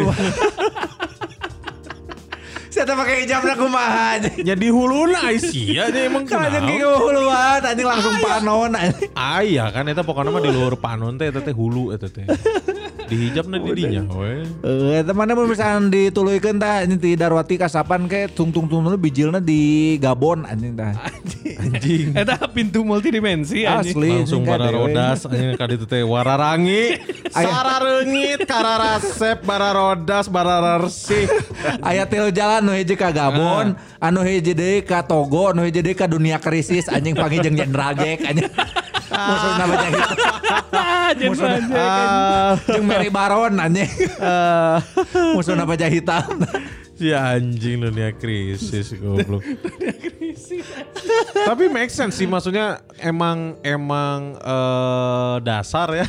Saya pakai hijab na kumaha anjing. Jadi huluna ai sia nya emang Kan anjing kunaon. kieu huluan anjing langsung panon anjing. Aya kan eta pokokna mah di luhur panon teh eta teh hulu eta teh. Dihijabna di dinya we. Eh, eta mana mun misalkan dituluykeun tah anjing ti Darwati Kasapan ke tung-tung-tung bijilna di Gabon anjing tah. Anjing. Eta pintu multidimensi anjing. Asli. Langsung anjing, bara kadewe. rodas anjing ka ditu teh wararangi. Sarareungit kararasep bara rodas bara resik. Aya tilu jalan nu hiji ka Gabon, anu hiji deui ka Togo, anu hiji deui ka dunia krisis anjing panggil jeung Jenderal Jack anjing. Musuhna baca gitu. Musuhna Ah, jeung Mary Baron anjing. Musuhna baca hitam. si anjing dunia krisis goblok. Tapi make sense sih maksudnya emang emang eh, dasar ya.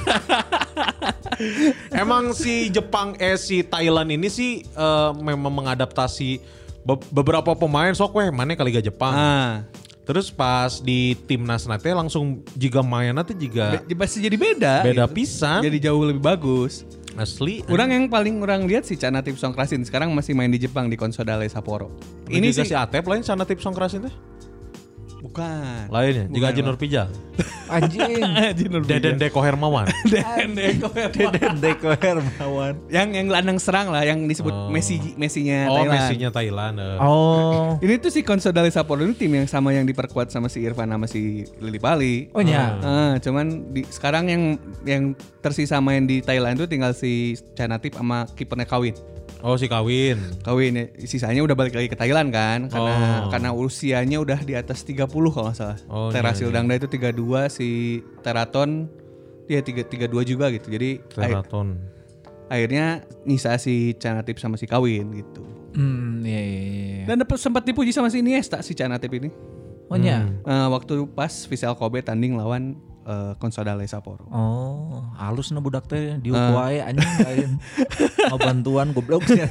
Emang si Jepang eh si Thailand ini sih eh, memang mengadaptasi be- beberapa pemain sok weh mana ke Liga Jepang. Ah. Terus pas di timnas nanti langsung jika mainnya tuh juga Be- pasti jadi beda. beda gitu. pisan. Jadi jauh lebih bagus. Asli. Orang yang paling orang lihat si Canatip Songkrasin sekarang masih main di Jepang di Consadole Sapporo. ini Ini juga sih si Atep lain sana tip songkrasin teh. bukan. Lainnya Bukan, jika Haji Bang. Nur Pijal. Anjing. Jinur Deden Deko Hermawan. Deden Deko Deden Deko Hermawan. Yang yang gelandang serang lah yang disebut Oh. Messi Messinya Oh, Thailand. Messi-nya Thailand. eh. Oh. Ini tuh si Consadole Sapporo ini tim yang sama yang diperkuat sama si Irfan sama si Lili Pali. Oh nya. Ah, cuman di, sekarang yang yang tersisa main di Thailand tuh tinggal si Canatip sama kipernya Kawin. Oh, si Kawin. Kawin ya, sisanya udah balik lagi ke Thailand kan karena Oh. karena usianya udah di atas tiga puluh kalau nggak salah. Oh, Terasil iya, iya. Dangda itu tiga puluh dua, si Teraton dia tiga tiga dua juga gitu. Jadi Teraton. akhirnya nyisa si Canatip sama si Kawin gitu. Hmm, iya iya iya. Dan dapat sempat dipuji sama si Iniesta si Canatip ini. Oh nya. Eh, waktu pas Vissel Kobe tanding lawan uh, Consadole Sapporo. Oh, halus na budak teh diuk wae anjing lain. Mau bantuan goblok sih.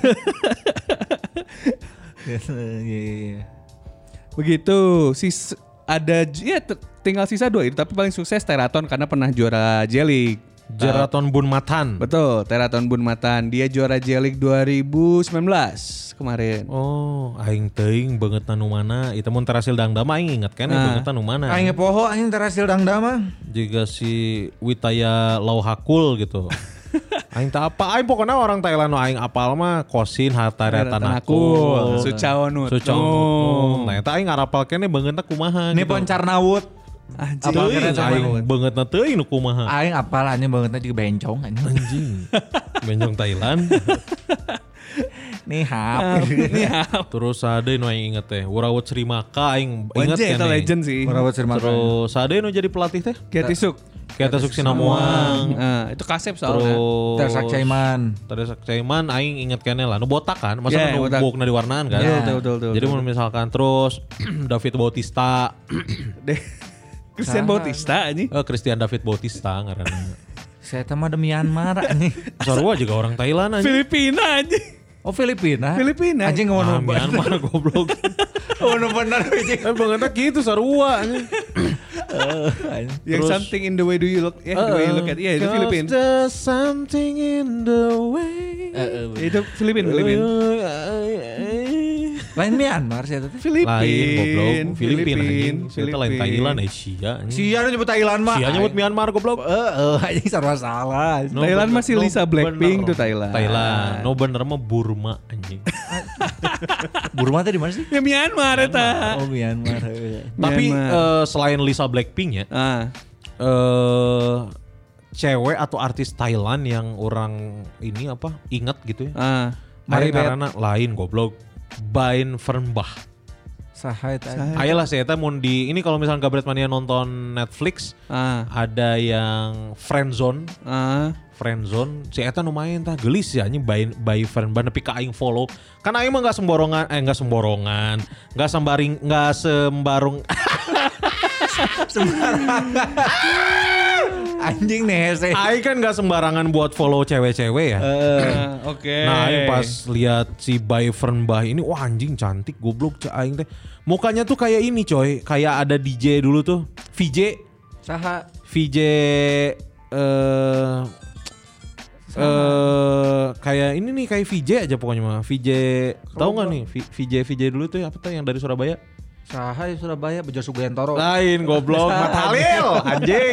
Iya iya. Begitu. Sis ada ya t- tinggal sisa dua itu tapi paling sukses Teraton karena pernah juara J-League. Jeraton Bun Matan. Betul, Teraton Bun Matan. Dia juara J-League dua ribu sembilan belas kemarin. Oh, aing teuing beungeut nu mana? Itu mun terasil dangdam aing inget kan Nah. beungeut nu mana? Aing poho anjing terasil dangda mah. Juga si Witaya Lauhakul gitu. Aing tak apa, aing pokoknya orang Thailand nu aing apal mah Kosin Hataretanakul, Sucawanut. Sucawanut. Nah, eta aing ngarapal keneh beungeutna kumaha Ini gitu. Poncarnawut. Anjing. Apa Teuing kira aing beungeutna teuing nu kumaha. Aing apal anjing bangetna juga bencong anjing. Anjing. Benjong Thailand. Nih hap. Terus ada nu aing inget teh, Wurawut Srimaka aing inget Wajah, itu keneh. legend sih. Merawat sirma. Terus ada nu jadi pelatih teh? Kiatisuk. Kita Suksinamuang. Nah, itu kasep soalnya. Terus Tersak Caiman. Tersak Caiman aing inget keneh lah, nu botak kan, masa Yeah, nu botak. bukna diwarnaan kan. Betul, betul, betul, betul. Jadi mun misalkan terus David Bautista, Deh. Christian Bautista anjing. eh Christian David Bautista ngaranna. Saya tama de Myanmar anjing. Sarua juga orang Thailand aja. Filipina anjing. Oh Filipina. Filipina. Anjing Ah, ngono Myanmar goblok. Ngono bener anjing. Eh bangetnya gitu sarua anjing. Yang Terus- something in the way do you look, ya, the way you look at, iya itu Cause Filipin. there's something in the way. Itu Filipin, Filipin. Lain Myanmar sih teh. Filipin. Lain goblok, Filipin Filipin, anjing. Kita lain Filipin. Thailand Asia anjing. Sia nyebut Thailand mah. Sia nyebut Myanmar goblok. Heeh, anjing sarua salah. No Thailand bener- masih no Lisa Blackpink bener. tuh Thailand. Thailand. No bener mah Burma anjing. Burma teh di mana sih? Ya Myanmar eta. Oh Myanmar. heuh. Tapi Myanmar. eh, selain Lisa Blackpink ya, Ah, eh cewek atau artis Thailand yang orang ini apa inget gitu ya. ah. Mari Maribeth. karena lain goblok. Bain Fernbach. Saha eta? Ayolah saya teh mun di ini kalau misalnya Gabret Mania nonton Netflix Ah, ada yang Friendzone. ah. Friendzone si eta nu main tah geulis ya anjing by by Fernbach nepi ka aing follow. Kan aing mah enggak semborongan eh enggak semborongan, enggak sembaring enggak sembarung Anjing nih hese. aing kan enggak sembarangan buat follow cewek-cewek ya. Ah, Oke. Nah, aing pas lihat si Bay Fernbach ini, wah anjing cantik goblok cak aing teh. Mukanya tuh kayak ini coy, kayak ada D J dulu tuh, V J, Saha? V J eh eh kayak ini nih kayak V J aja pokoknya mah. V J tahu nggak nih V- VJ VJ dulu tuh apa tuh yang dari Surabaya? Saha di Surabaya Bejo Sugentoro. Lain goblok, Mat Halil anjing.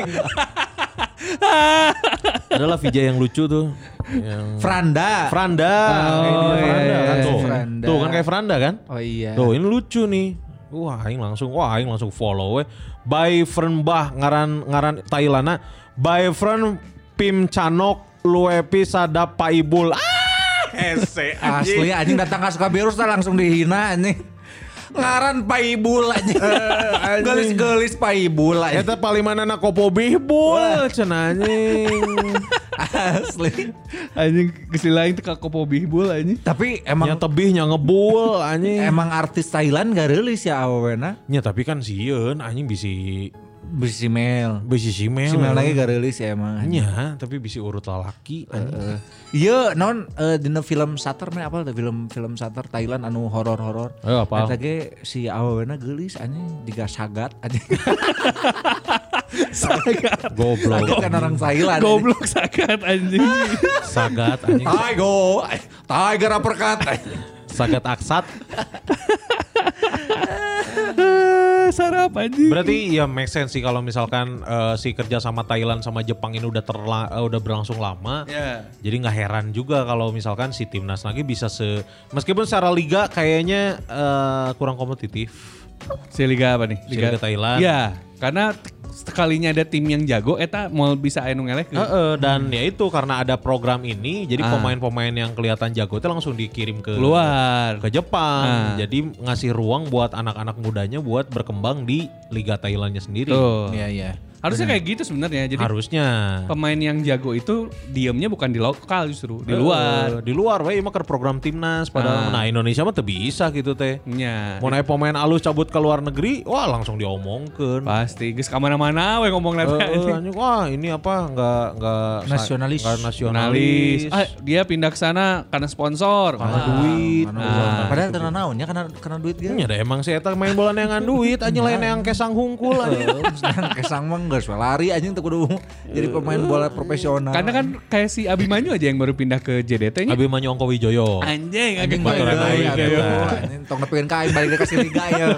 Adalah V J yang lucu tuh. Yang Franda. Franda. Oh, Kayak dia Franda iya, kan tuh. Franda. Tuh kan kayak Franda kan? Oh iya. Tuh ini lucu nih. Wah, aing langsung wah aing langsung follow we. By Fernbach ngaran ngaran Thailandna. By Fern Pim Canok Luepi Sadap Paibul. Ah, hese Asli anjing datang ke Sukabirus teh langsung dihina anjing. Ngaran Paibul anjing. Gelis-gelis Paibul anjing. Eta palimanana kopo bihbul cenah anjing. Asli. Anjing kesilain teh ka kopo bihbul anjing. Tapi Nya emang tebih nya ngebul anjing. emang artis Thailand gak rilis ya awena. Nya tapi kan sieun anjing bisi Bisi Mel. bisi simel. Si Mel lagi gak rilis ya emang. Nya, tapi bisi urut lalaki anjing. Iya, non eh, dina film Sater mah apa tuh film film Sater Thailand anu horor-horor. Eh, apal? Eta ge si awena geulis anjing diga sagat anjing. Goblok. Kan orang Thailand. Goblok sakat anjing. Sagat anjing. Tai go. Tiger uppercut. Sagat aksat. Sarap anjing. Berarti ya make sense sih kalau misalkan eh, si kerja sama Thailand sama Jepang ini udah terla, eh, udah berlangsung lama. Ya. Jadi nggak heran juga kalau misalkan si timnas lagi bisa se meskipun secara liga kayaknya eh, kurang kompetitif. Si liga apa nih? Si Liga Thailand. Iya, karena sekalinya ada tim yang jago eta mau bisa anu ngelek. Heeh, dan ya itu karena ada program ini jadi Ah. pemain-pemain yang kelihatan jago itu langsung dikirim ke Keluar. ke Jepang. Ah. Jadi ngasih ruang buat anak-anak mudanya buat berkembang di Liga Thailandnya sendiri. Tuh. Iya iya. Harusnya kayak gitu sebenarnya. Jadi Harusnya. pemain yang jago itu diemnya bukan di lokal justru, di luar. Eh, di luar we mah keur program timnas padahal. Nah, Indonesia mah teu bisa gitu teh. Nya. Mau naik pemain alus cabut ke luar negeri, wah langsung diomongkeun. Pasti geus ka mana-mana we ngomong Eh, nanti. eh, anjing, wah ini apa enggak enggak Nasionalis. enggak nasionalis. Ah, dia pindah ke sana karena sponsor, karena duit. Karena Nah, duit. Padahal karena naonnya karena karena duit gitu. Nya da emang si eta main bola neangan duit anjing lain yang kesang hungkul anjing. Kesang mah geus we lari anjing teu kudu jadi pemain bola profesional. Karena kan kayak si Abimanyu aja yang baru pindah ke J D T-nya. Abimanyu Ongko Wijoyo. Anjing, anjing anjing baturan baturan aing, aing eta. anjing tong nepikeun ka aing balik ka Liga ya.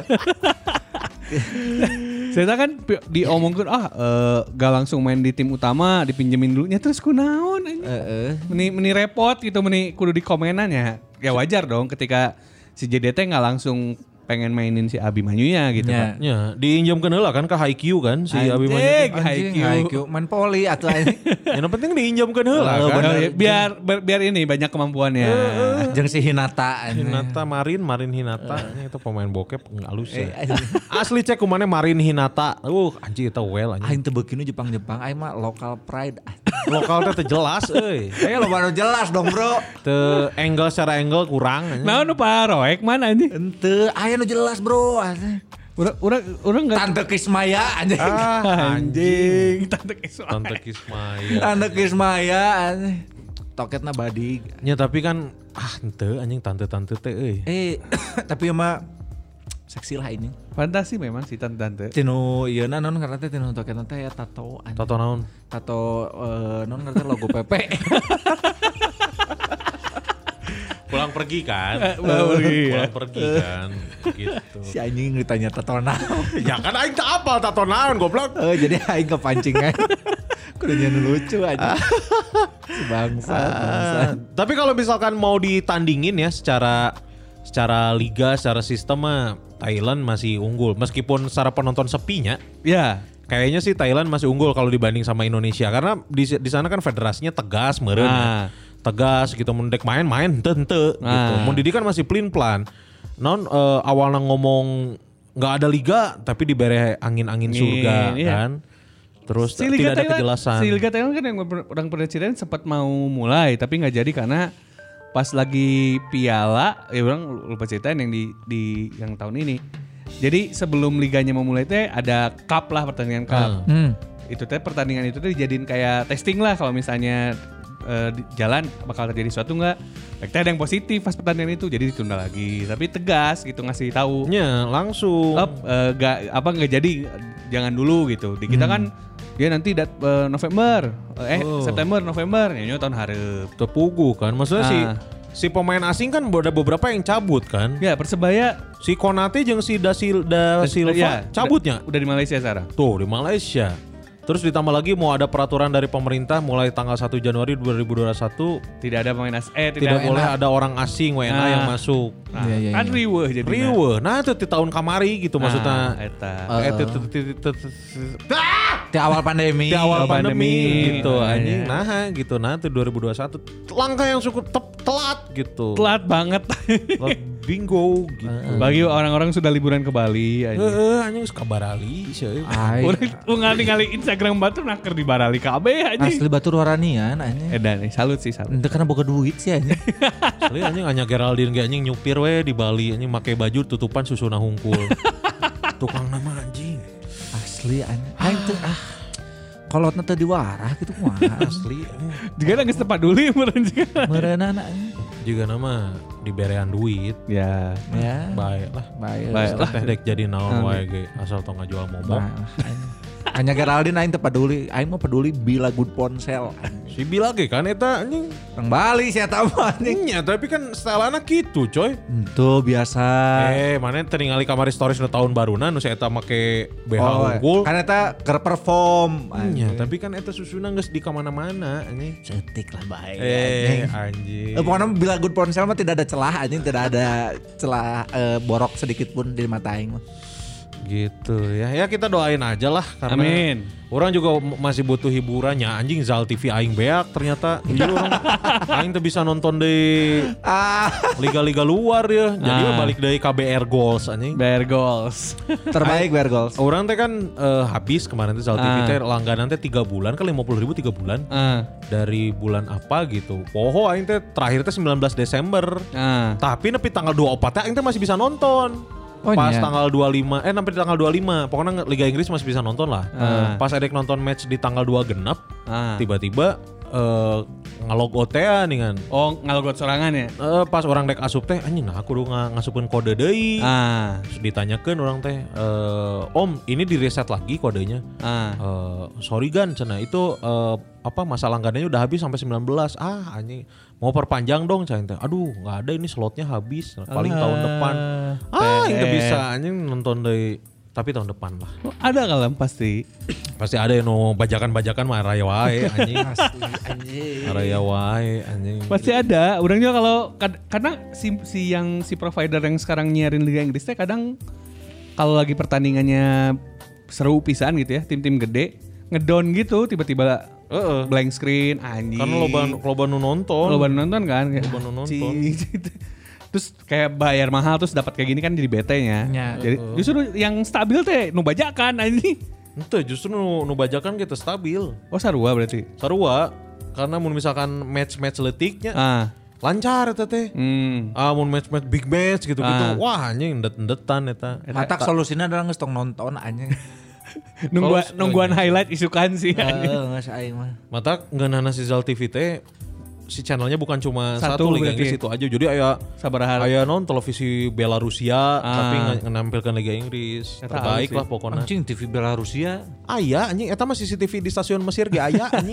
Saya kan pi- diomongkeun ah eh, gak langsung main di tim utama, dipinjemin dulunya terus kunaon anjing. Heeh. Meni meni repot gitu, meni kudu di komenan ya. Ya wajar dong ketika si J D T nggak langsung pengen mainin si Abimanyunya gitu Ya. kan. Ya, diinjamkeun heula kan ke Haikyuu kan si Abimanyu. Anjing, Anjing, Haikyuu. Haikyuu main poli atuh anjing. Yang penting diinjamkeun heula Oh, kan. Oh, ya, biar biar biar ini banyak kemampuannya. Jeung si Hinata anjing. Hinata Marin, Marin Hinata, Ini itu pemain bokep nggak halus Eh, ya. anjing. Asli cek kumane Marin Hinata. Uh, anjing itu well anjing. Aing teu beuki nu Jepang-Jepang, aing mah local pride. Lokal teh teu jelas euy. Eh lo baru jelas dong, Bro. Teu angle secara angle kurang anjing. Nah, nu paroek mana anjing? Ente, aya nu jelas, Bro. Anjing. Urang urang urang enggak Tante Kismaya anjing. Ah, anjing. Tante Kisma. Tante Kismaya. Tante Kismaya anjing. Toketna badig. Ya tapi kan ah ente anjing tante-tante teh euy. Eh, tapi mah seksi lah ini. Fantasi memang si tante-tante. Tinu ieu na non karena teh tinu toketna teh ya tato anjing. Tato naon? Tato eh, non karena teh logo P P. Pulang pergi kan? Pulang pergi, ya. Pulang pergi kan. Gitu. Si anjing ditanya tato naon. Ya kan aing teu apal tato naon goblok. Oh, jadi aing kepancing kan. Kudu nyen lucu aja. Si bangsa, bangsa. Tapi kalau misalkan mau ditandingin ya secara secara liga, secara sistem mah Thailand masih unggul meskipun secara penonton sepinya. Ya. Kayaknya sih Thailand masih unggul kalau dibanding sama Indonesia karena di di sana kan federasinya tegas meureun. Nah. Ya. Tegas gitu mendek main-main henteu henteu gitu. Nah. Mun di dieu kan masih pelin-pelan. Non uh, awalnya ngomong nggak ada liga tapi dibere angin-angin Angin, surga iya. kan. Terus Si tidak Liga ada Thailand, kejelasan. si Liga Thailand kan yang orang presiden sempat mau mulai tapi nggak jadi karena pas lagi piala ya orang lupa ceritain yang di di yang tahun ini. Jadi sebelum liganya mau mulai teh ada cup lah, pertandingan cup. Hmm. Itu teh pertandingan itu tuh dijadiin kayak testing lah kalau misalnya eh, di jalan bakal terjadi sesuatu nggak. Baik teh ada yang positif pas pertandingan itu jadi ditunda lagi. Tapi tegas gitu ngasih tahu. Nya langsung. Up, eh, gak apa nggak jadi jangan dulu gitu. Di kita kan dia nanti dat, eh, November eh Oh. September November nyanyi tahun hareup. Tepugu kan. Maksudnya si Ah. si pemain asing kan ada beberapa yang cabut kan. Ya Persebaya Si Konate jeung si Da, Sil- Da Silva ya, cabutnya. udah, udah di Malaysia sekarang. Tuh di Malaysia. Terus ditambah lagi mau ada peraturan dari pemerintah mulai tanggal satu Januari dua ribu dua puluh satu Tidak ada pemain as eh tidak tidak, boleh ada orang asing W N A Nah. yang masuk. Nah, Iya, iya, kan iya. riweuh jadi. Riweuh. Nah itu di tahun kamari gitu maksudnya. Eta. Eh, ti- ti- ti- ti- ti- Di awal pandemi. di awal Awal pandemi, pandemi. gitu Nah, anjing. iya. Nah gitu nah itu dua ribu dua puluh satu langkah yang cukup tep- telat gitu. Telat banget. Telat bingo gitu. Bagi orang-orang sudah liburan ke Bali. anjing. Heeh anjing suka barali sih. Ai, Urang ngali Instagram batu naker di Barali kabeh anjing. asli batur waranian anjing. Edan nih, salut sih salut. Ente karena boga duit sih anjing. Asli anjing anya Geraldine ge anjing nyupir we di Bali anjing make baju tutupan susuna hungkul. Tukang nama anjing. Asli anjing. Aing teh ah. Kolotna teu diwarah gitu kumaha. Asli. Juga nangis tepat dulu ya meureun juga. Meureunana anjing. Juga nama diberean duit. Ya. Ya. Baik lah. Baik. Baik. Terus teh dek jadi naon wae ge asal tong ngajual momok. Hanya Geraldine aing teu peduli, aing mah peduli bila good ponsel. Si Bila ge kan eta anjing. Orang Bali sih eta mah anjing. Nya tapi kan stylana gitu coy. Itu biasa. Eh mana teu ningali kamari stories nu tahun baruna nu si eta make B H Oh, unggul. kan eta keur perform. Nya tapi kan eta susuna geus di kamana-mana anjing. Cetik lah baik. Eh anjing. Eh, pokoknya bila good ponsel mah tidak ada celah anjing, tidak ada celah eh, borok sedikit pun di mata aing mah. Gitu ya. Ya kita doain aja lah karena Amin. orang juga m- masih butuh hiburannya. Anjing Zal T V aing beak ternyata. Jadi orang aing tuh bisa nonton di liga-liga luar ya. Jadi Ah. balik dari K B R Goals anjing. Bear Goals. Terbaik Bear Goals. Orang teh kan eh, habis kemarin tuh Zal T V Ah. teh langganan teh tiga bulan kan lima puluh ribu tiga bulan. Ah. Dari bulan apa gitu. Poho aing teh terakhir teh sembilan belas Desember. Ah. Tapi nepi tanggal dua puluh empat teh aing teh masih bisa nonton. Oh, Pas iya. tanggal dua puluh lima eh sampai di tanggal dua puluh lima pokoknya Liga Inggris masih bisa nonton lah. Ah. Pas Edek nonton match di tanggal dua genep, Ah. tiba-tiba eh ngalog O T A nih kan. Oh, ngalogot sorangan ya? Eh, pas orang dek asup teh anjing nah aku udah nga- ngasupin kode deui. Ah. Terus ditanyakeun orang teh, eh, "Om, ini di reset lagi kodenya." Ah. Eh, sorry Gan, cenah itu eh, apa masa langganannya udah habis sampai sembilan belas. Ah, anjing mau perpanjang dong cenah teh. Aduh, nggak ada ini slotnya habis. Paling tahun depan. Ah, ini P R. bisa anjing nonton dari tapi tahun depan lah. Oh, ada kalem pasti. Pasti ada yang no bajakan-bajakan mah raya wae anjing. Anjing. Raya wae anjing. Pasti ada. Orang juga kalau kad- karena si, si yang si provider yang sekarang nyiarin Liga Inggris teh kadang kalau lagi pertandingannya seru pisan gitu ya, tim-tim gede ngedown gitu tiba-tiba Heeh. blank screen anjing. Karena loba loba nu nonton. Loba nonton kan kayak, Loba nu nonton. "Cing." Terus kayak bayar mahal terus dapat kayak gini kan jadi bete-nya. Ya. Jadi justru yang stabil teh nu bajakan anjing. Ente justru nu, nu bajakan gitu stabil. Oh sarua berarti. Sarua karena mun misalkan match-match letiknya Ah. lancar eta teh. Hmm. Ah mun match-match big match gitu-gitu. Ah. Wah anjing endet-endetan eta. Matak solusinya adalah nges tong nonton anjing. Nungguan Oh, nungguan highlight isukan sih anjing. Heeh, geus aing mah. Mata ngeunana si Zal T V teh si channelnya bukan cuma Satu satu, Liga berarti. Inggris itu aja. Jadi aya Sabaraha. aya non televisi Belarusia Ah. tapi nge- menampilkan Liga Inggris. Eta Terbaik halus lah sih. pokoknya. Anjing T V Belarusia. Aya anjing eta mah C C T V di stasiun Mesir ge aya anjing.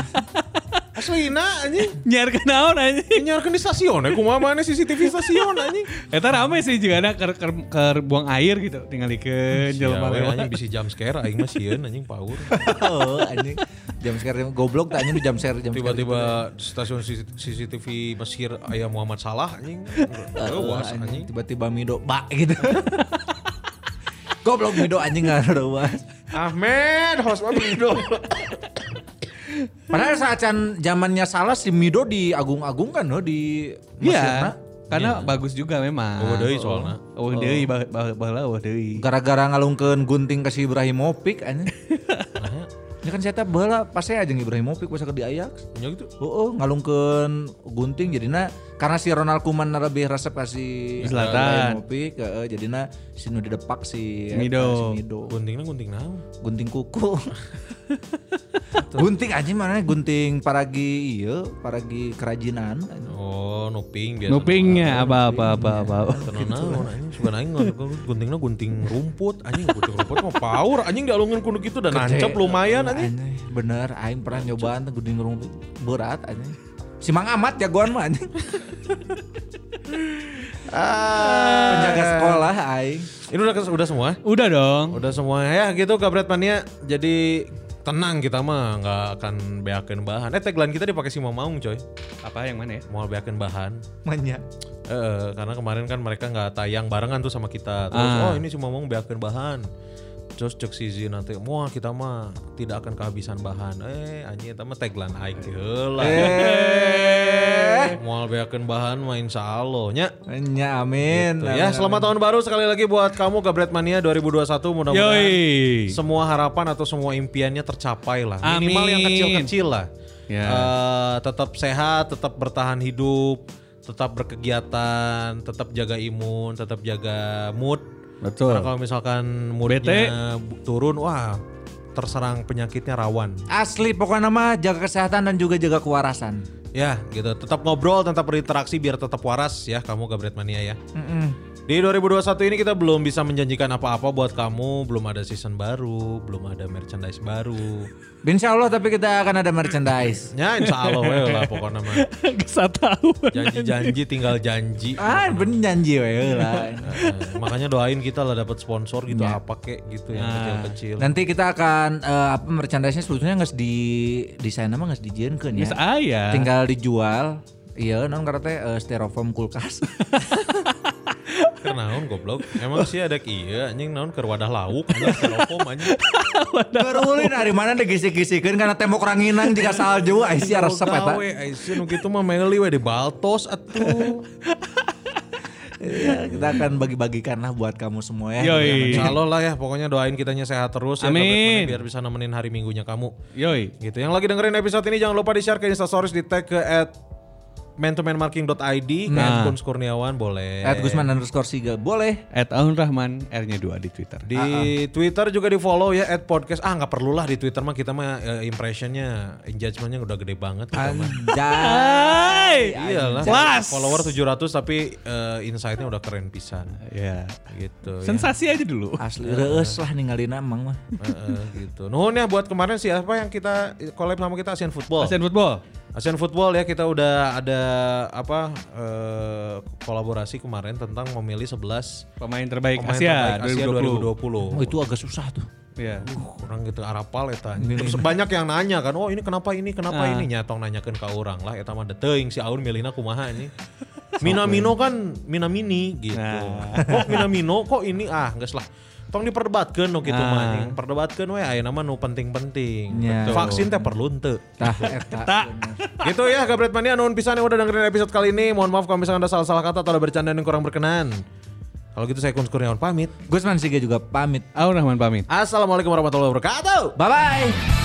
Aslina anjing. Nyiar ke naon anjing. Nyiarkeun di stasiun ya kumaha mana C C T V stasiun anjing. Eta rame sih juga ada ker, ker, ker buang air gitu tinggalikeun jelema Ya, we, lewat. anjing bisa jam scare aing mah sieun anjing power. Oh, anjing. Jam sekarang goblok tanya nu jam share jam Tiba-tiba di stasiun C C T V Mesir aya Muhammad Salah anjing. Awas anjing. Tiba-tiba Mido bak gitu. Goblok Mido anjing enggak ada was. Ahmed, host Mido. Padahal saat can zamannya Salah si Mido diagung-agungkan loh di Mesirna. Iya. Karena bagus juga memang. Eueuh deui soalna. Oh, deui bah- bah- baheula eueuh deui. Gara-gara ngalungkeun gunting ke si Ibrahimovic anjing. Ini kan saya teh baheula pas saya jeung Ibrahimovic pas ke di Ajax. Nya gitu. Heeh, ngalungkeun gunting jadina karena si Ronald Koeman lebih resep kasih Zlatan. Ibrahimovic, heeh, jadina si nu didepak si Mido. si Mido. Guntingna gunting naon? Gunting kuku. Gunting aja mana gunting paragi iya, paragi kerajinan. Oh, nuping biasa. Nupingnya apa apa apa apa. Tenang naon anjing sugan aing guntingna gunting rumput anjing gunting rumput mah power anjing dialungkeun kudu kitu dan nancep lumayan anjing. Anjing, bener, aing pernah nyobaan tuh gunting rumput berat anjing. Si Mang Amat jagoan mah anjing. Penjaga sekolah aing. Ini udah udah semua? Udah dong. Udah semua ya gitu Gabret Mania. Jadi tenang kita mah nggak akan beakeun bahan. Eh tagline kita dipakai si Mamaung coy. Apa yang mana ya? Mau beakeun bahan. Manya. Eh, karena kemarin kan mereka nggak tayang barengan tuh sama kita. Terus Ah. oh ini si Mamaung beakeun bahan. Terus cek si Zin nanti, wah kita mah tidak akan kehabisan bahan. Eh anjing eta mah tagline aing teh heula. Eh. Moal beakeun bahan mah insyaallah nya. Manya amin. Tuh, ya, selamat tahun baru sekali lagi buat kamu Gabret Mania dua ribu dua puluh satu. Mudah-mudahan Yoi. semua harapan atau semua impiannya tercapai lah. Minimal Amin. yang kecil-kecil lah. Ya. Eh, tetap sehat, tetap bertahan hidup, tetap berkegiatan, tetap jaga imun, tetap jaga mood. Betul. Karena kalau misalkan moodnya turun, wah terserang penyakitnya rawan. Asli pokoknya mah jaga kesehatan dan juga jaga kewarasan. Ya gitu, tetap ngobrol, tetap berinteraksi biar tetap waras ya kamu Gabret Mania ya. Mm-mm. Di dua ribu dua puluh satu ini kita belum bisa menjanjikan apa-apa buat kamu, belum ada season baru, belum ada merchandise baru. Insya Allah tapi kita akan ada merchandise. Ya insya Allah we lah pokoknya mah. Gak tahu. Janji-janji tinggal janji. Ah bener janji we lah. Eh, makanya doain kita lah dapat sponsor gitu apa kek gitu yang kecil-kecil. Nanti kita akan eh, apa merchandise-nya sebetulnya nggak di desain nama nggak dijieunkeun ya. Bisa aya. Tinggal dijual. Iya non karena teh eh, styrofoam kulkas. naon goblok. Emang sih ada iya anjing naon keur wadah lauk anjing styrofoam anjing. Gerulin dari mana digisik-gisikeun karena tembok ranginang jika salju ai sia resep eta. Gawe ai sih nu kitu mah meli we di baltos atuh. Ya, kita akan bagi-bagikan lah buat kamu semua ya. Yoi. Insya Allah lah ya, pokoknya doain kitanya sehat terus ya. Amin. Biar bisa nemenin hari minggunya kamu. Yoi. Gitu. Yang lagi dengerin episode ini jangan lupa di-share ke Instastories, di tag ke at man to man marking dot i d, ke Nah. at Guns Kurniawan boleh. At Gusman underscore Siga boleh. At Aun Rahman, R-nya dua di Twitter. Di Twitter juga di follow ya at podcast. Ah nggak perlu lah di Twitter mah kita mah eh, impressionnya, engagementnya udah gede banget. Kita mah. Anjay. Iyalah. Kelas. Follower tujuh ratus tapi eh, insight-nya udah keren pisan. Ya. Gitu. ya. Sensasi aja dulu. Asli reus lah ninggalin Amang mah. Heeh, gitu. Nuhun ya buat kemarin siapa yang kita collab sama kita Asian Football. Asian Football. Asian Football ya kita udah ada apa eh, kolaborasi kemarin tentang memilih sebelas Pemain terbaik pemain Asia, terbaik Asia dua ribu dua puluh. dua ribu dua puluh. Oh itu agak susah tuh. Iya. Uh, orang gitu arapal eta. Terus banyak yang nanya kan, "Oh, ini kenapa ini? Kenapa Ah. ini?" Nyatong nanyakeun ka urang lah eta mah teuing si Aun milihna kumaha ini. Minamino kan Minamini gitu. Nah. Kok Minamino kok ini ah geus lah. Tong diperdebatkeun nu kitu Ah. mah anjing. Perdebatkeun we ayeuna mah nu penting-penting. Ya. Vaksin teh perlu henteu. Tah eta. Gitu ya Gabret Mania, nuhun pisan yang udah dengerin episode kali ini. Mohon maaf kalau misalkan ada salah-salah kata atau ada bercandaan yang kurang berkenan. Kalau gitu saya Guns Kurniawan pamit. Gusman Siga juga pamit. Aun Rahman pamit. Assalamualaikum warahmatullahi wabarakatuh. Bye bye.